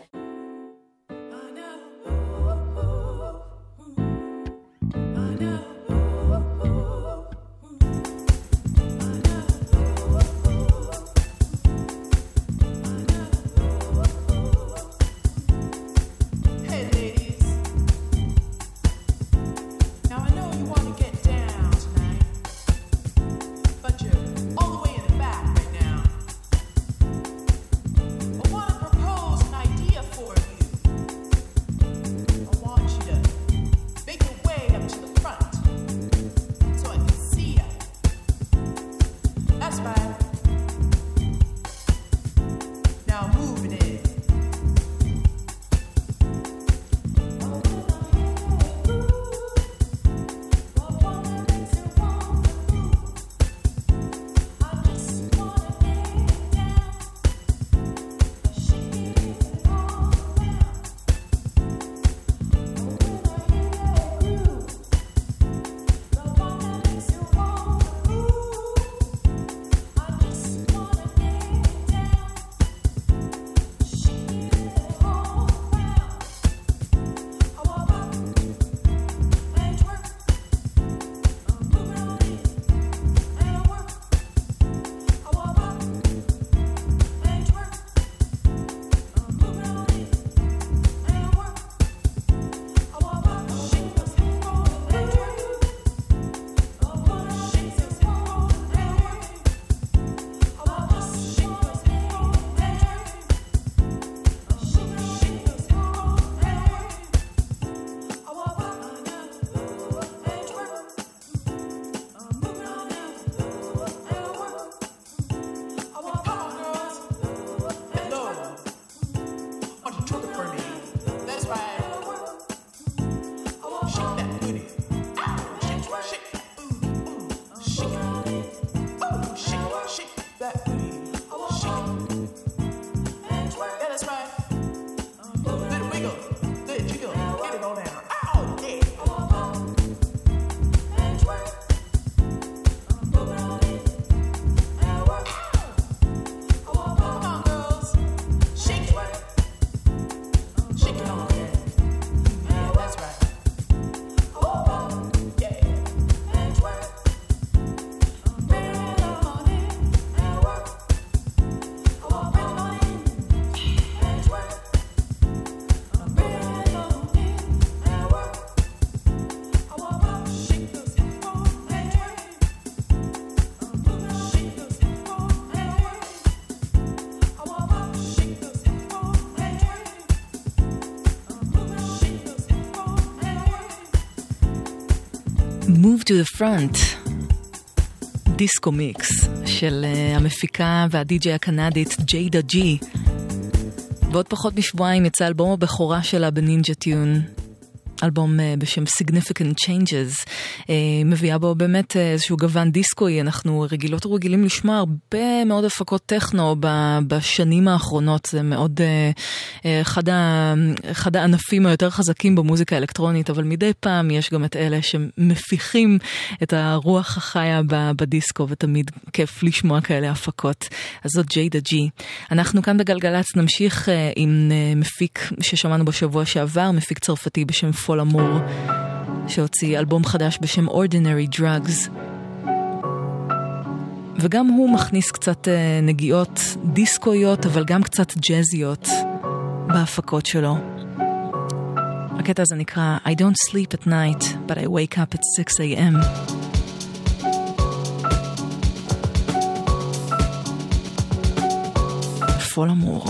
Move to the Front, דיסקו מיקס של המפיקה והדי-ג'יי הקנדית ג'יידה ג'י. בעוד פחות משבועיים יצא אלבום הבכורה שלה בנינג'ה טיון, אלבום בשם Significant Changes, מביאה בו באמת איזשהו גוון דיסקוי. אנחנו רגילות ורגילים לשמוע הרבה מאוד הפקות טכנו בשנים האחרונות, זה מאוד אחד הענפים היותר חזקים במוזיקה האלקטרונית, אבל מדי פעם יש גם את אלה שמפיחים את הרוח החיה בדיסקו, ותמיד כיף לשמוע כאלה הפקות. אז זאת ג'יידה ג'י. אנחנו כאן בגלגלץ נמשיך עם מפיק ששמענו בשבוע שעבר, מפיק צרפתי בשם פול אמור, שהוציא אלבום חדש בשם Ordinary Drugs, וגם הוא מכניס קצת נגיעות דיסקויות אבל גם קצת ג'זיות בהפקות שלו. הקטע הזה נקרא I don't sleep at night but I wake up at 6 a.m. פול אמור.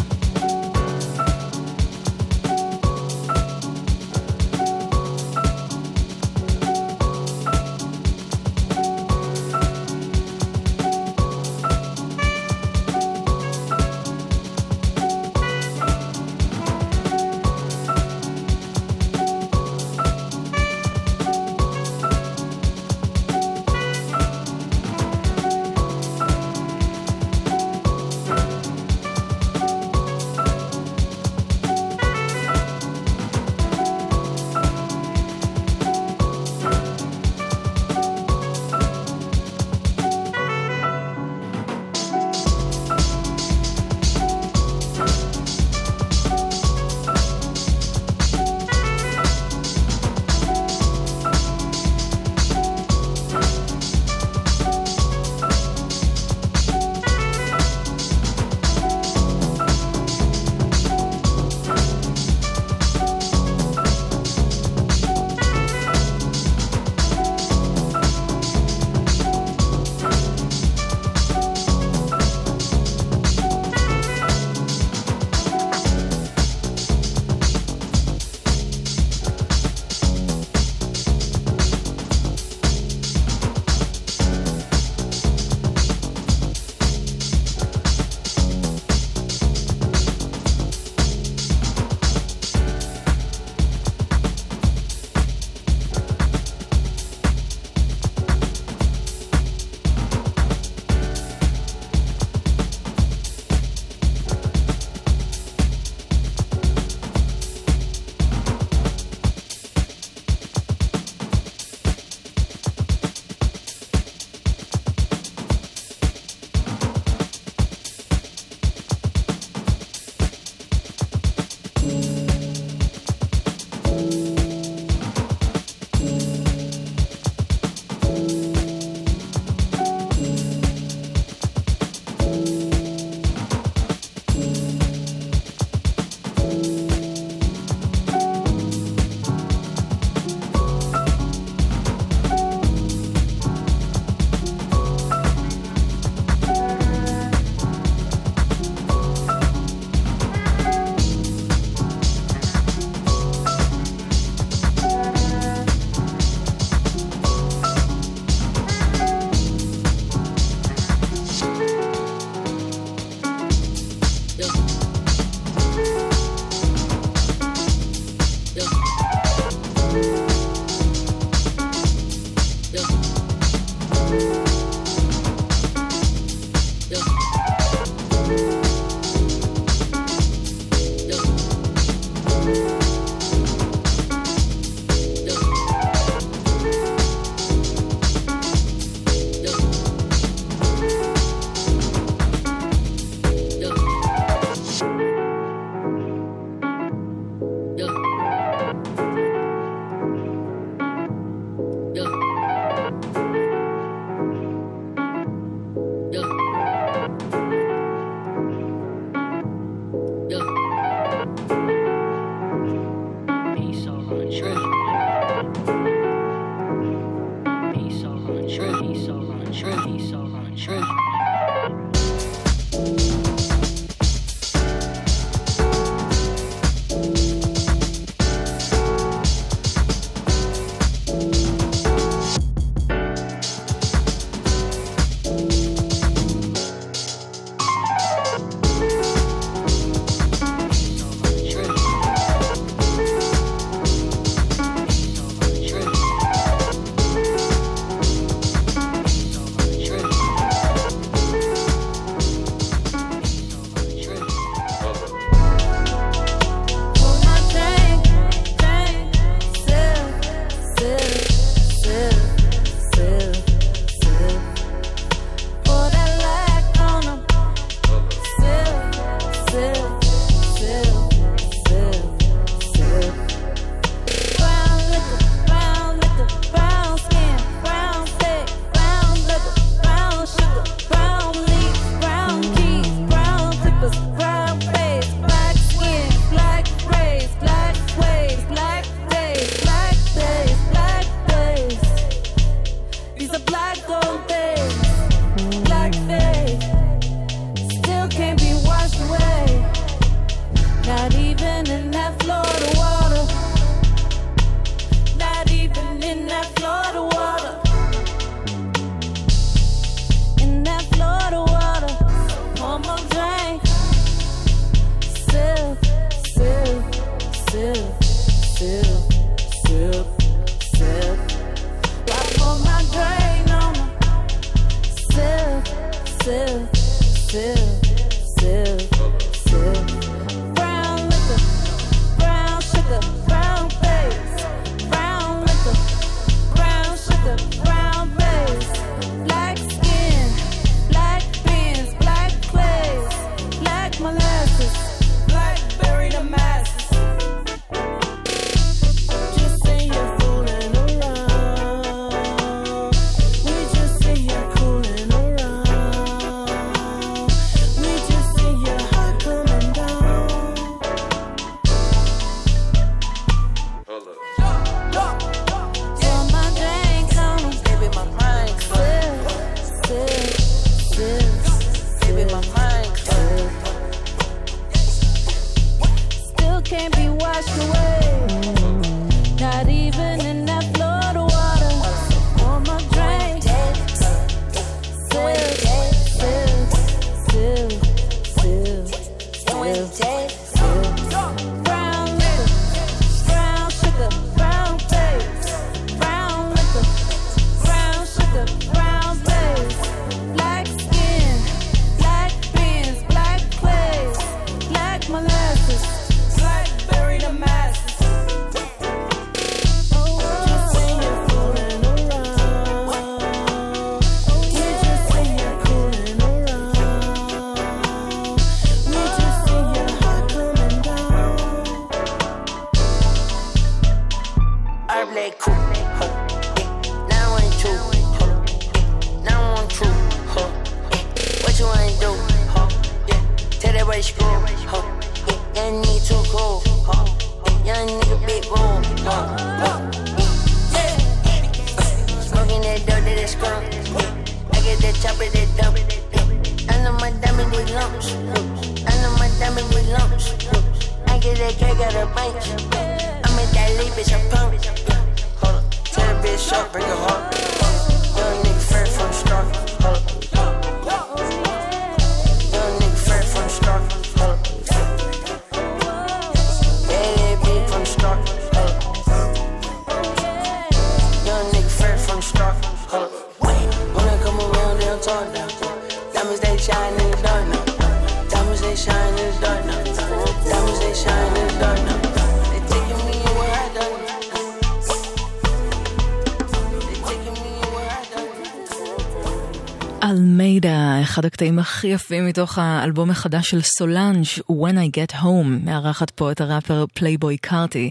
אלמיידה, אחד הקטעים הכי יפים מתוך האלבום החדש של סולנג' When I Get Home, מארחת פה את הראפר פלייבוי קארטי.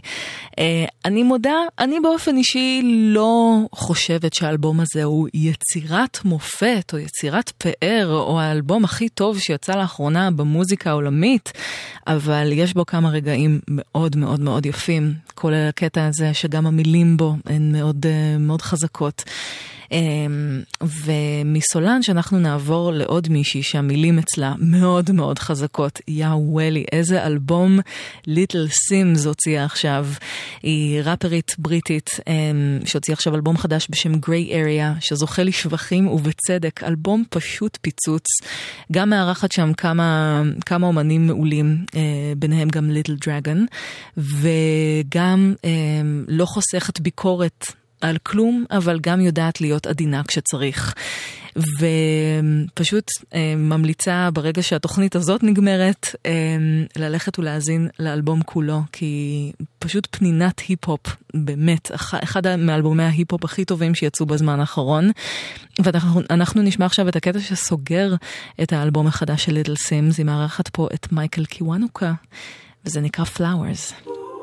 אני מודה, אני באופן אישי לא חושבת שהאלבום הזה הוא יצירת מופת או יצירת פאר או האלבום הכי טוב שיצא לאחרונה במוזיקה העולמית, אבל יש בו כמה רגעים מאוד מאוד מאוד יפים, כולל הקטע הזה שגם המילים בו הן מאוד מאוד חזקות. ומסולן שאנחנו נעבור לעוד מישהי שהמילים אצלה מאוד מאוד חזקות. יא וואלי, איזה אלבום ליטל סימס הוציאה עכשיו. היא ראפרית בריטית שהוציאה עכשיו אלבום חדש בשם גריי אריה, שזוכה לשבחים ובצדק. אלבום פשוט פיצוץ. גם מארחת שם כמה אומנים מעולים, ביניהם גם ליטל דרגון, וגם לא חוסכת ביקורת על כלום, אבל גם יודעת להיות עדינה כשצריך. ופשוט ממליצה ברגע שהתוכנית הזאת נגמרת, ללכת ולהזין לאלבום כולו, כי פשוט פנינת היפ-הופ, באמת, אחד מאלבומי ההיפ-הופ הכי טובים שיצאו בזמן האחרון. ואנחנו נשמע עכשיו את הקטע שסוגר את האלבום החדש של ליטל סימס, היא מארחת פה את מייקל קיוונוקה, וזה נקרא Flowers.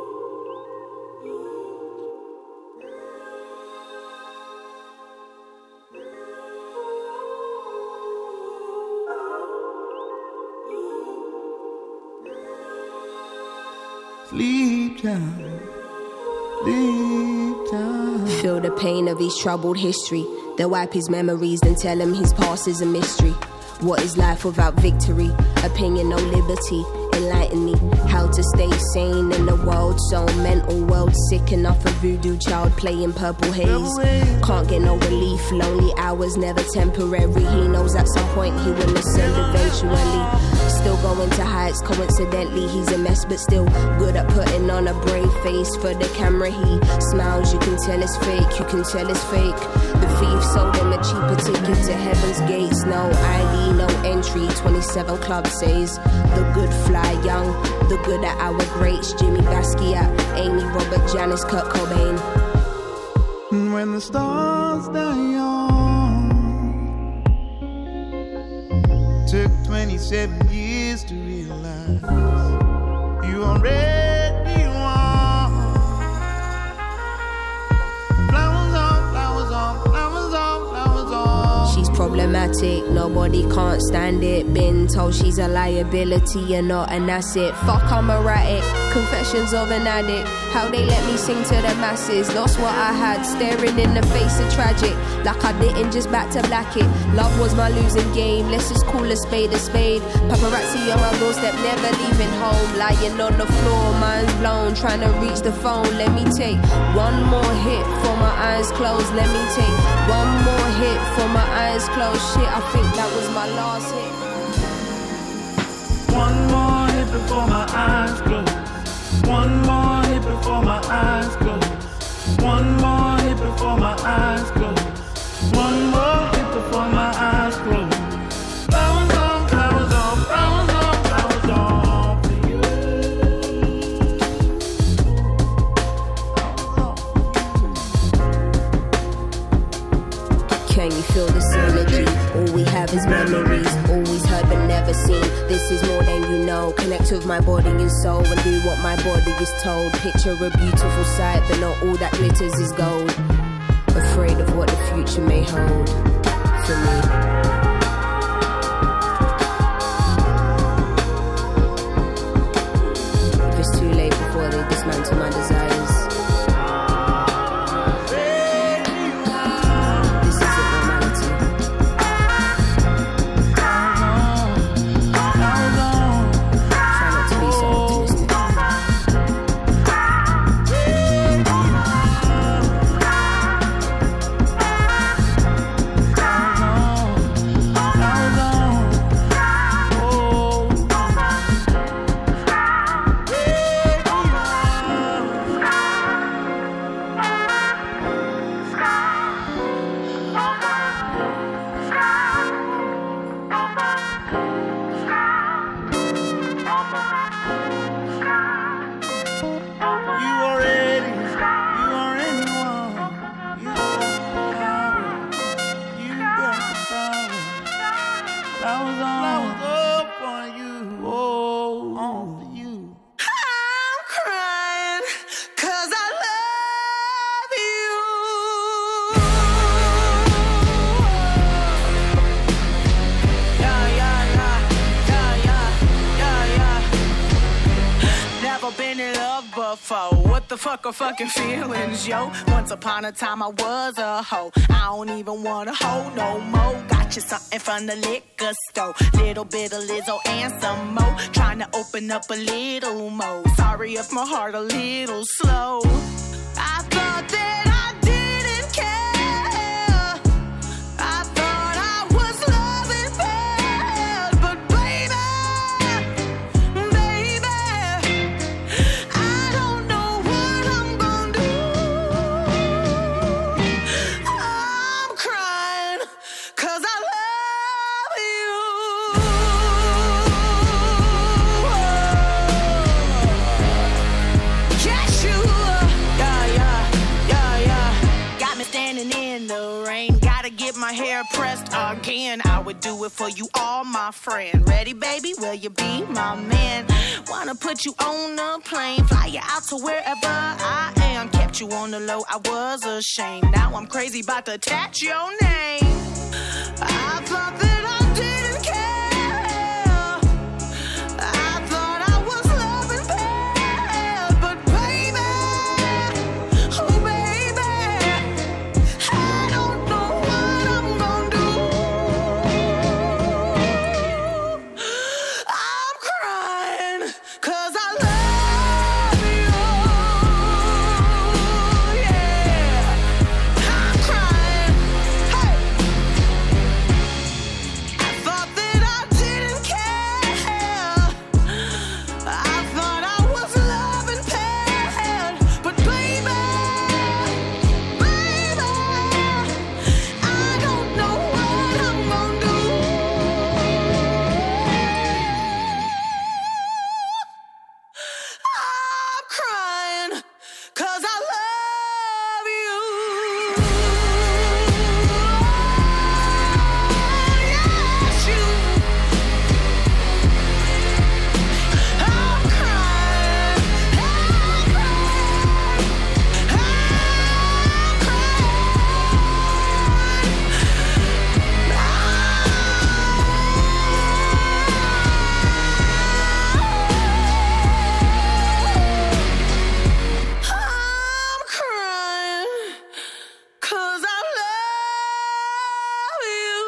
Sleep time, sleep time. Feel the pain of his troubled history. They'll wipe his memories and tell him his past is a mystery. What is life without victory? Opinion, no liberty. Enlighten me how to stay sane in the world so mental, world sick enough. A voodoo child playing purple haze. Can't get no relief, lonely hours never temporary. He knows at some point he will ascend eventually. Still going to heights, coincidentally he's a mess, but still good at putting on a brave face for the camera. He smiles, you can tell it's fake, you can tell it's fake. The thief sold him a cheaper ticket to heaven's gates. No ID, no entry, 27 Club says. The good fly young, the good at our greats. Jimmy Basquiat, Amy, Robert, Janis, Kurt Cobain. When the stars die young, took 27 years to realize you already won. Flowers on, flowers on, flowers on, flowers on. She's problematic, nobody can't stand it. Been told she's a liability and not an asset. Fuck, I'm erratic, confessions of an addict. How they let me sing to the masses. Lost what I had, staring in the face of tragic. Like I didn't just back to black it. Love was my losing game, let's just call a spade a spade. Paparazzi on my doorstep, never leaving home. Lying on the floor, mind's blown, trying to reach the phone. Let me take one more hit for my eyes closed. Let me take one more hit for my eyes closed. Shit, I think that was my last hit. One more hit before my eyes close. One more hit before my eyes close. One more hit before my eyes close. One more hit before my eyes close. Flowers on, flowers on, flowers on, flowers on for you. Can you feel this energy? All we have is memories. Always heard but never seen. This is more than you know. Connect with my body and soul and do what my body is told. Picture a beautiful sight, but not all that glitters is gold. Afraid of what the future may hold for me. If it's too late before they dismantle my desires, this isn't normality. Try not to be so optimistic. the fuck are fucking feelings, yo? Once upon a time I was a hoe. I don't even want a hoe no more. Got you something from the liquor store. Little bit of Lizzo and some more. Trying to open up a little more. Sorry if my heart a little slow. I thought that I didn't care. I thought I was loving bad. But baby, I don't know what I'm gonna do. I'm crying 'cause I love you. Yes, you are. Yeah. Got me standing in the rain. Gotta get my hair pressed again. I would do it for you, all my friend. Ready, baby? Will you be my man? Wanna put you on a plane, fly you out to wherever I am. Kept you on the low, I was ashamed. Now I'm crazy about to attach your name. I thought that I didn't care. I thought I was loving bad. But baby, oh baby, I don't know what I'm gonna do. I'm crying 'cause I love you. Yeah, I'm crying. Hey, I thought that I didn't care. I thought I was loving bad. But baby, I don't know what I'm gonna do. I'm crying 'cause I love you. Yes, you. I'm crying. I'm crying 'cause I love you.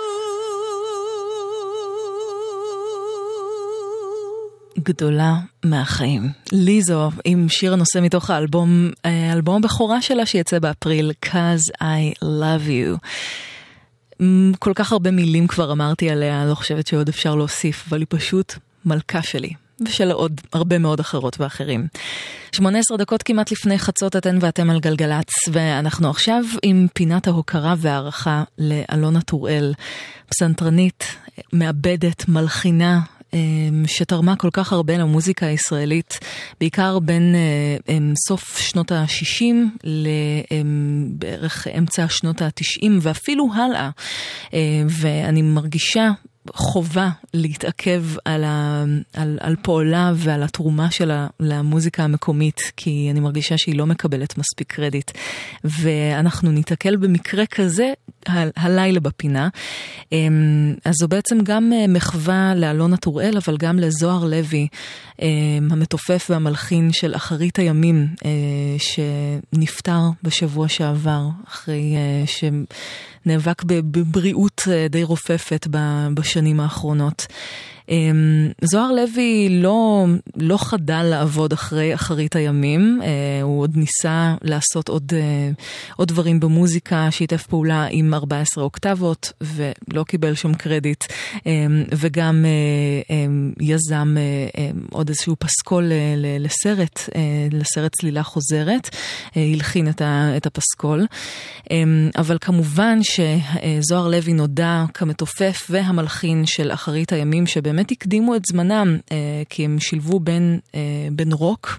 גדולה מהחיים. ליזו עם שיר הנושא מתוך האלבום הבכורה שלה שיצא באפריל, Cause I Love You. כל כך הרבה מילים כבר אמרתי עליה, לא חושבת שעוד אפשר להוסיף, אבל היא פשוט מלכה שלי. ושל עוד הרבה מאוד אחרות ואחרים. 18 דקות כמעט לפני חצות אתן ואתם על גלגלץ, ואנחנו עכשיו עם פינת ההוקרה והערכה לאלונה טוראל, פסנתרנית, מעבדת, מלחינה, שתרמה כל כך הרבה למוזיקה הישראלית, בעיקר בין סוף שנות ה-60 לבערך אמצע שנות ה-90 ואפילו הלאה. ואני מרגישה חובה להתעכב על פועלה ועל התרומה שלה למוזיקה המקומית, כי אני מרגישה שהיא לא מקבלת מספיק קרדיט. ואנחנו נתעכל במקרה כזה הלילה בפינה. אז זו בעצם גם מחווה לאלונה טוראל, אבל גם לזוהר לוי, המתופף והמלחין של אחרית הימים, שנפטר בשבוע שעבר, אחרי שנאבק בבריאות די רופפת בשנים האחרונות. זוהר לוי לא חדל לעבוד אחרי אחרית הימים, הוא עוד ניסה לעשות עוד דברים במוזיקה, שיתף פעולה עם 14 אוקטבות ולא קיבל שום קרדיט, וגם יזם עוד איזשהו פסקול לסרט צלילה חוזרת, הלחין את הפסקול, אבל כמובן שזוהר לוי נודע כמתופף והמלחין של אחרית הימים, שבאמת הקדימו את זמנם, כי הם שילבו בין רוק,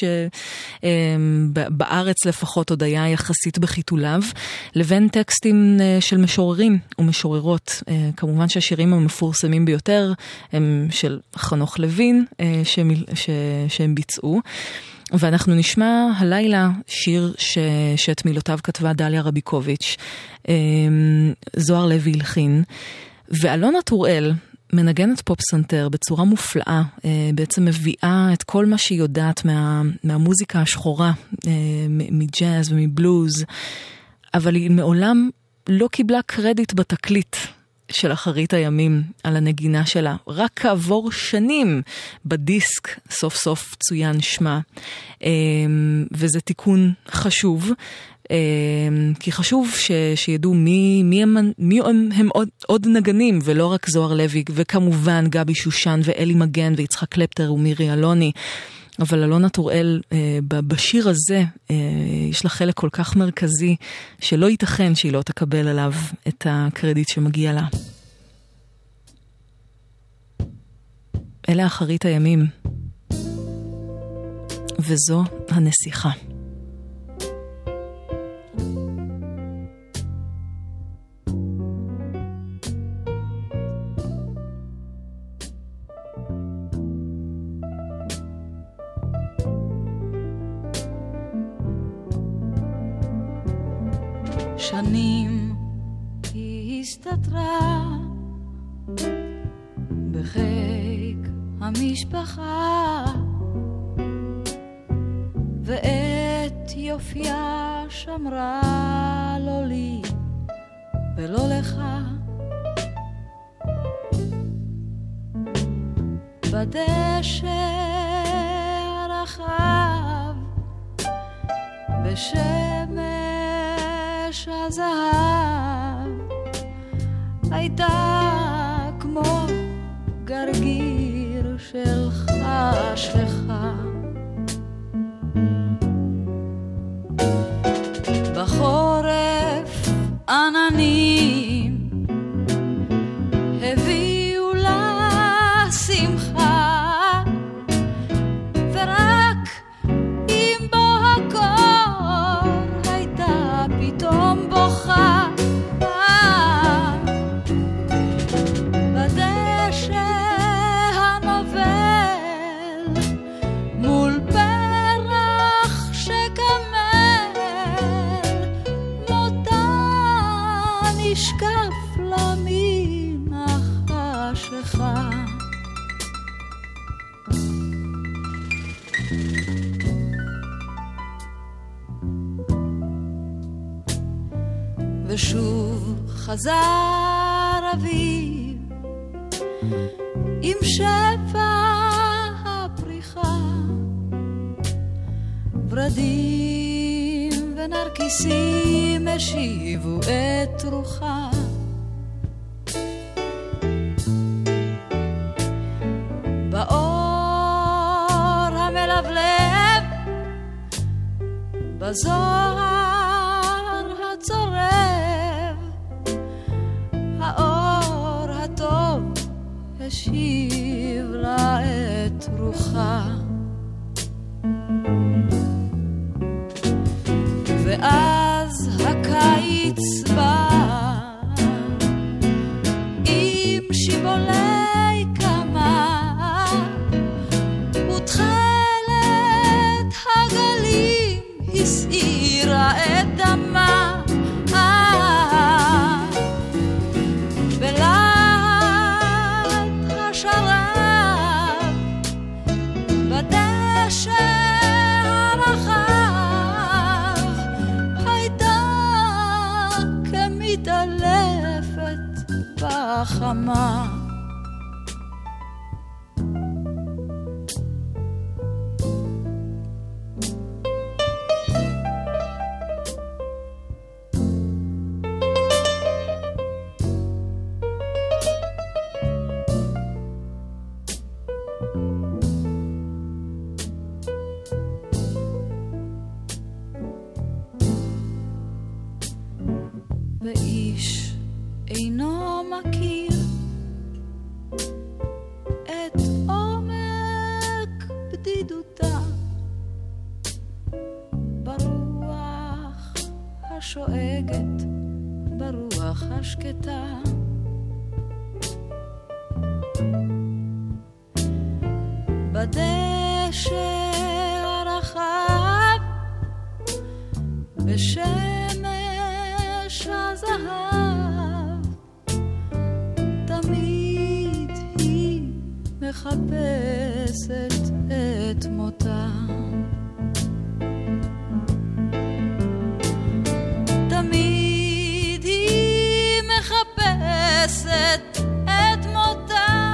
שבארץ לפחות עוד היה יחסית בחיתוליו, לבין טקסטים של משוררים ומשוררות. כמובן שהשירים המפורסמים ביותר הם של חנוך לוין, שהם ביצעו. ואנחנו נשמע הלילה שיר שאת מילותיו כתבה דליה רביקוביץ', זוהר לוי הלחין, ואלונה טוראל מנגנת פופ סנטר בצורה מופלאה, בעצם מביאה את כל מה שהיא יודעת מהמוזיקה השחורה, מג'אז ומבלוז, אבל היא מעולם לא קיבלה קרדיט בתקליט של אחרית הימים על הנגינה שלה. רק כעבור שנים בדיסק סוף סוף צוין שמה, וזה תיקון חשוב, כי חשוב שידעו מי הם עוד נגנים, ולא רק זוהר לוי, וכמובן גבי שושן ואלי מגן ויצחק קלפטר ומירי אלוני. אבל אלונה טוראל, בשיר הזה יש לה חלק כל כך מרכזי, שלא ייתכן שהיא לא תקבל עליו את הקרדיט שמגיע לה. אלה אחרית הימים, וזו הנסיכה. שנים היא הסתתרה בחיק המשפחה, ואת יופייה שמרה לא לי ולא לך. בדשא הרחב בשמש הזהב הייתה כמו גרגיר שלך שלך. בחורף עננים הביאו לה שמחה, ורק עם בוא הקור הייתה פתאום בוכה. בדשא הנובל מול פרח שקמל מותה נשקף לה מן החשכה. ושוב חזר אביב עם שפע הפריחה, ורדים ונרקיסים השיבו את רוחה. באור המלבלב בזוהר הצורב, האור הטוב השיב לה את רוחה. ואז הקיץ בא עם שיבולי קמה, ותכלת הגלים הסעירה את דמה. בלהט השרב בדשא הרחב הייתה כמתעלפת בחמה. ואיש אינו מכיר את עומק בדידותה, ברוח השואגת, ברוח השקטה. בדשא הרחב בשמש הזהב תמיד מחפשת את מותה. תמיד היא מחפשת את מותה.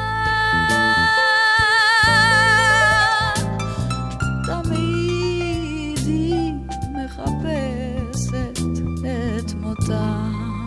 תמיד היא מחפשת את מותה.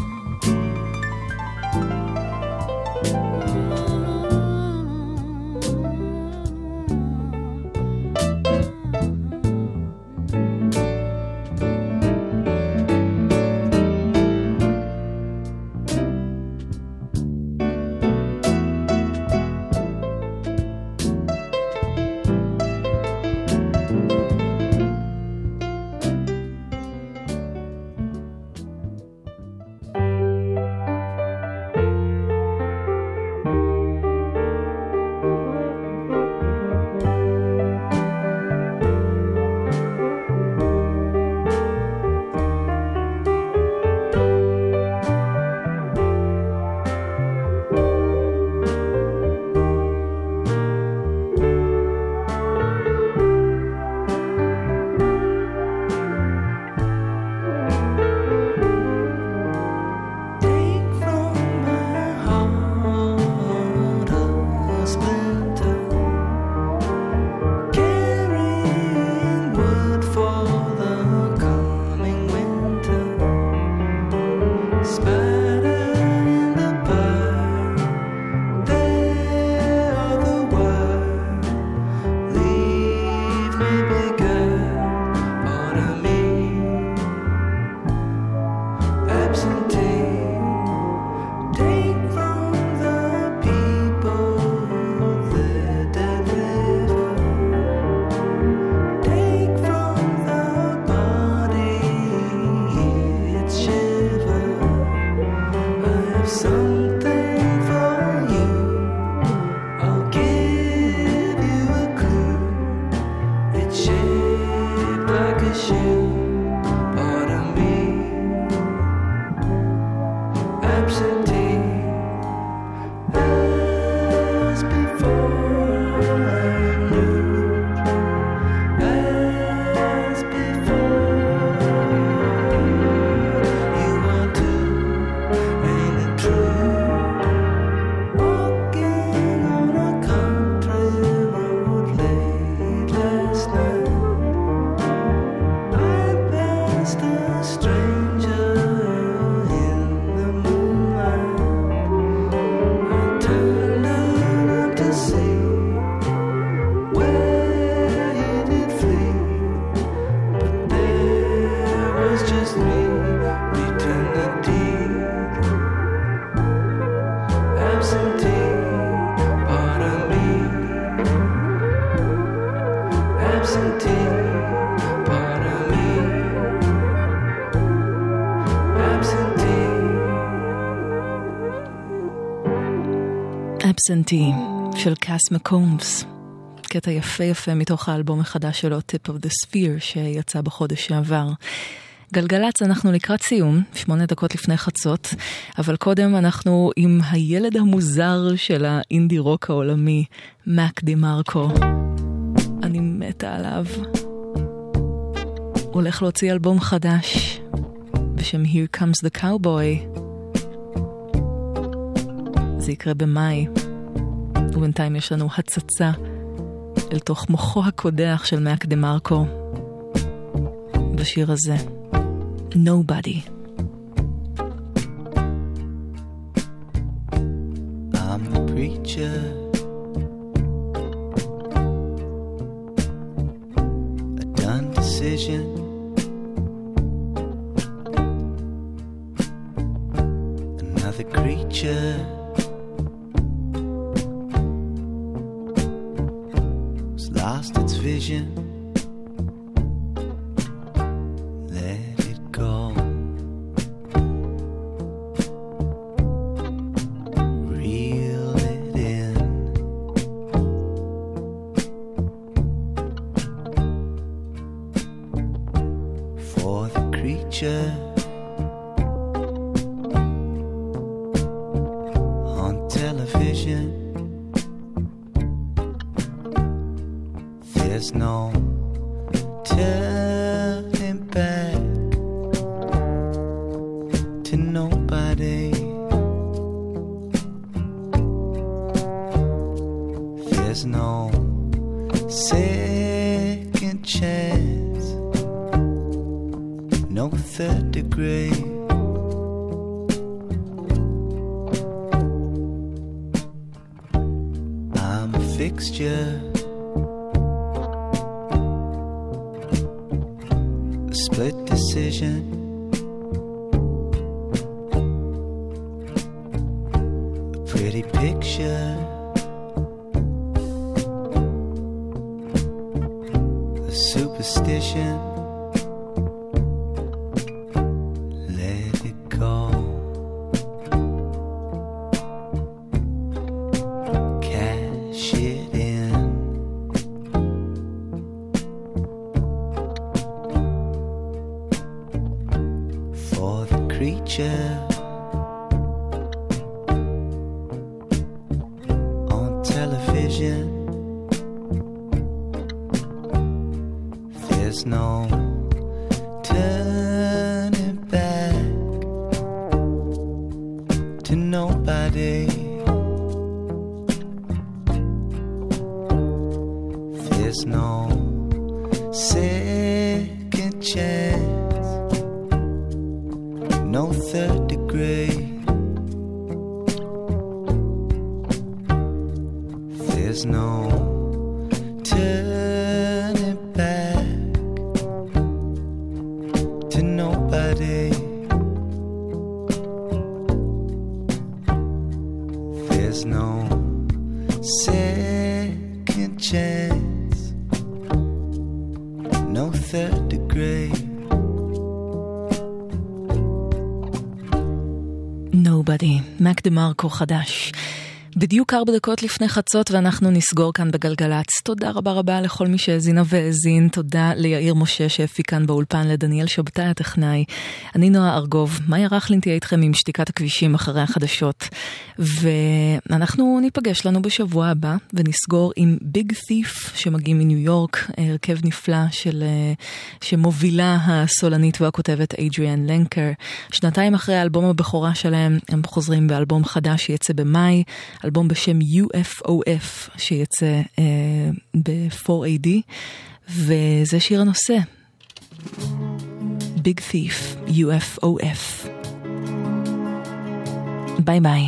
Absentee של קאס מקומס, קטע יפה יפה מתוך האלבום החדש שלו Tip of the Sphere שיצא בחודש שעבר. גלגלץ, אנחנו לקראת סיום, 8 דקות לפני חצות, אבל קודם אנחנו עם הילד המוזר של האינדי רוק העולמי, מאק די מרקו. אני מתה עליו. הולך להוציא אלבום חדש בשם Here Comes the Cowboy. זה יקרה במאי, ובינתיים יש לנו הצצה אל תוך מוחו הקודח של מאק די מרקו בשיר הזה, Nobody. I'm the preacher, a done decision, another creature lost its vision. Let it go. Reel it in. For the creature on television, There's no turning back to nobody. There's no second chance, no third degree. I'm a fixture, a split decision, a pretty picture, a superstition. Let it go. Cash it in. For the creature on television, there's no turning back to nobody. There's no second chance, no third degree. There's no turning back to nobody. There's no second chance, no third degree. Nobody, מק דה מרקו חדש. בדיוק 4 דקות לפני חצות ואנחנו נסגור כאן בגלגלץ. תודה רבה רבה לכל מי שהזינה והזין. תודה ליאיר משה שהפיק כאן באולפן, לדניאל שבתאי הטכנאי. אני נועה ארגוב. מאיה רכלין תהיה איתכם עם שתיקת הכבישים אחרי החדשות. ואנחנו ניפגש לנו בשבוע הבא ונסגור עם ביג תיף שמגיעים מניו יורק, הרכב נפלא שמובילה הסולנית והכותבת אדריאן לנקר. 2 אחרי האלבום הבכורה שלהם הם חוזרים באלבום חדש שיצא במאי, אלבום בשם UFOF שיצא ב-4AD, וזה שיר הנושא Big Thief, UFOF. ביי ביי.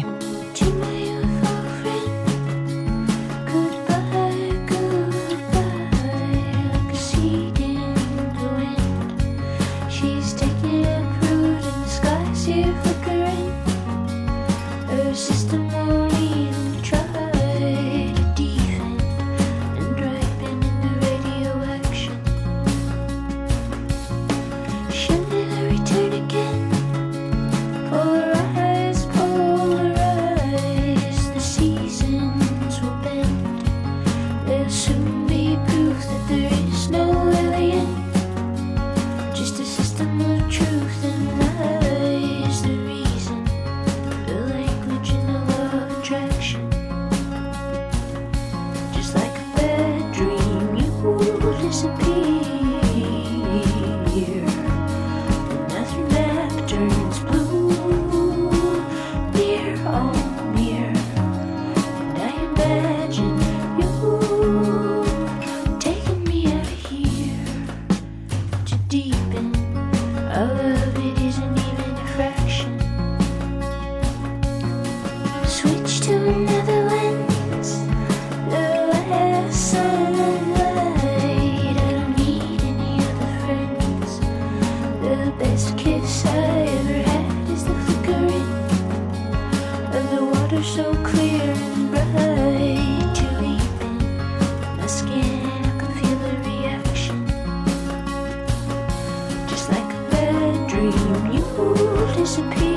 Disappear.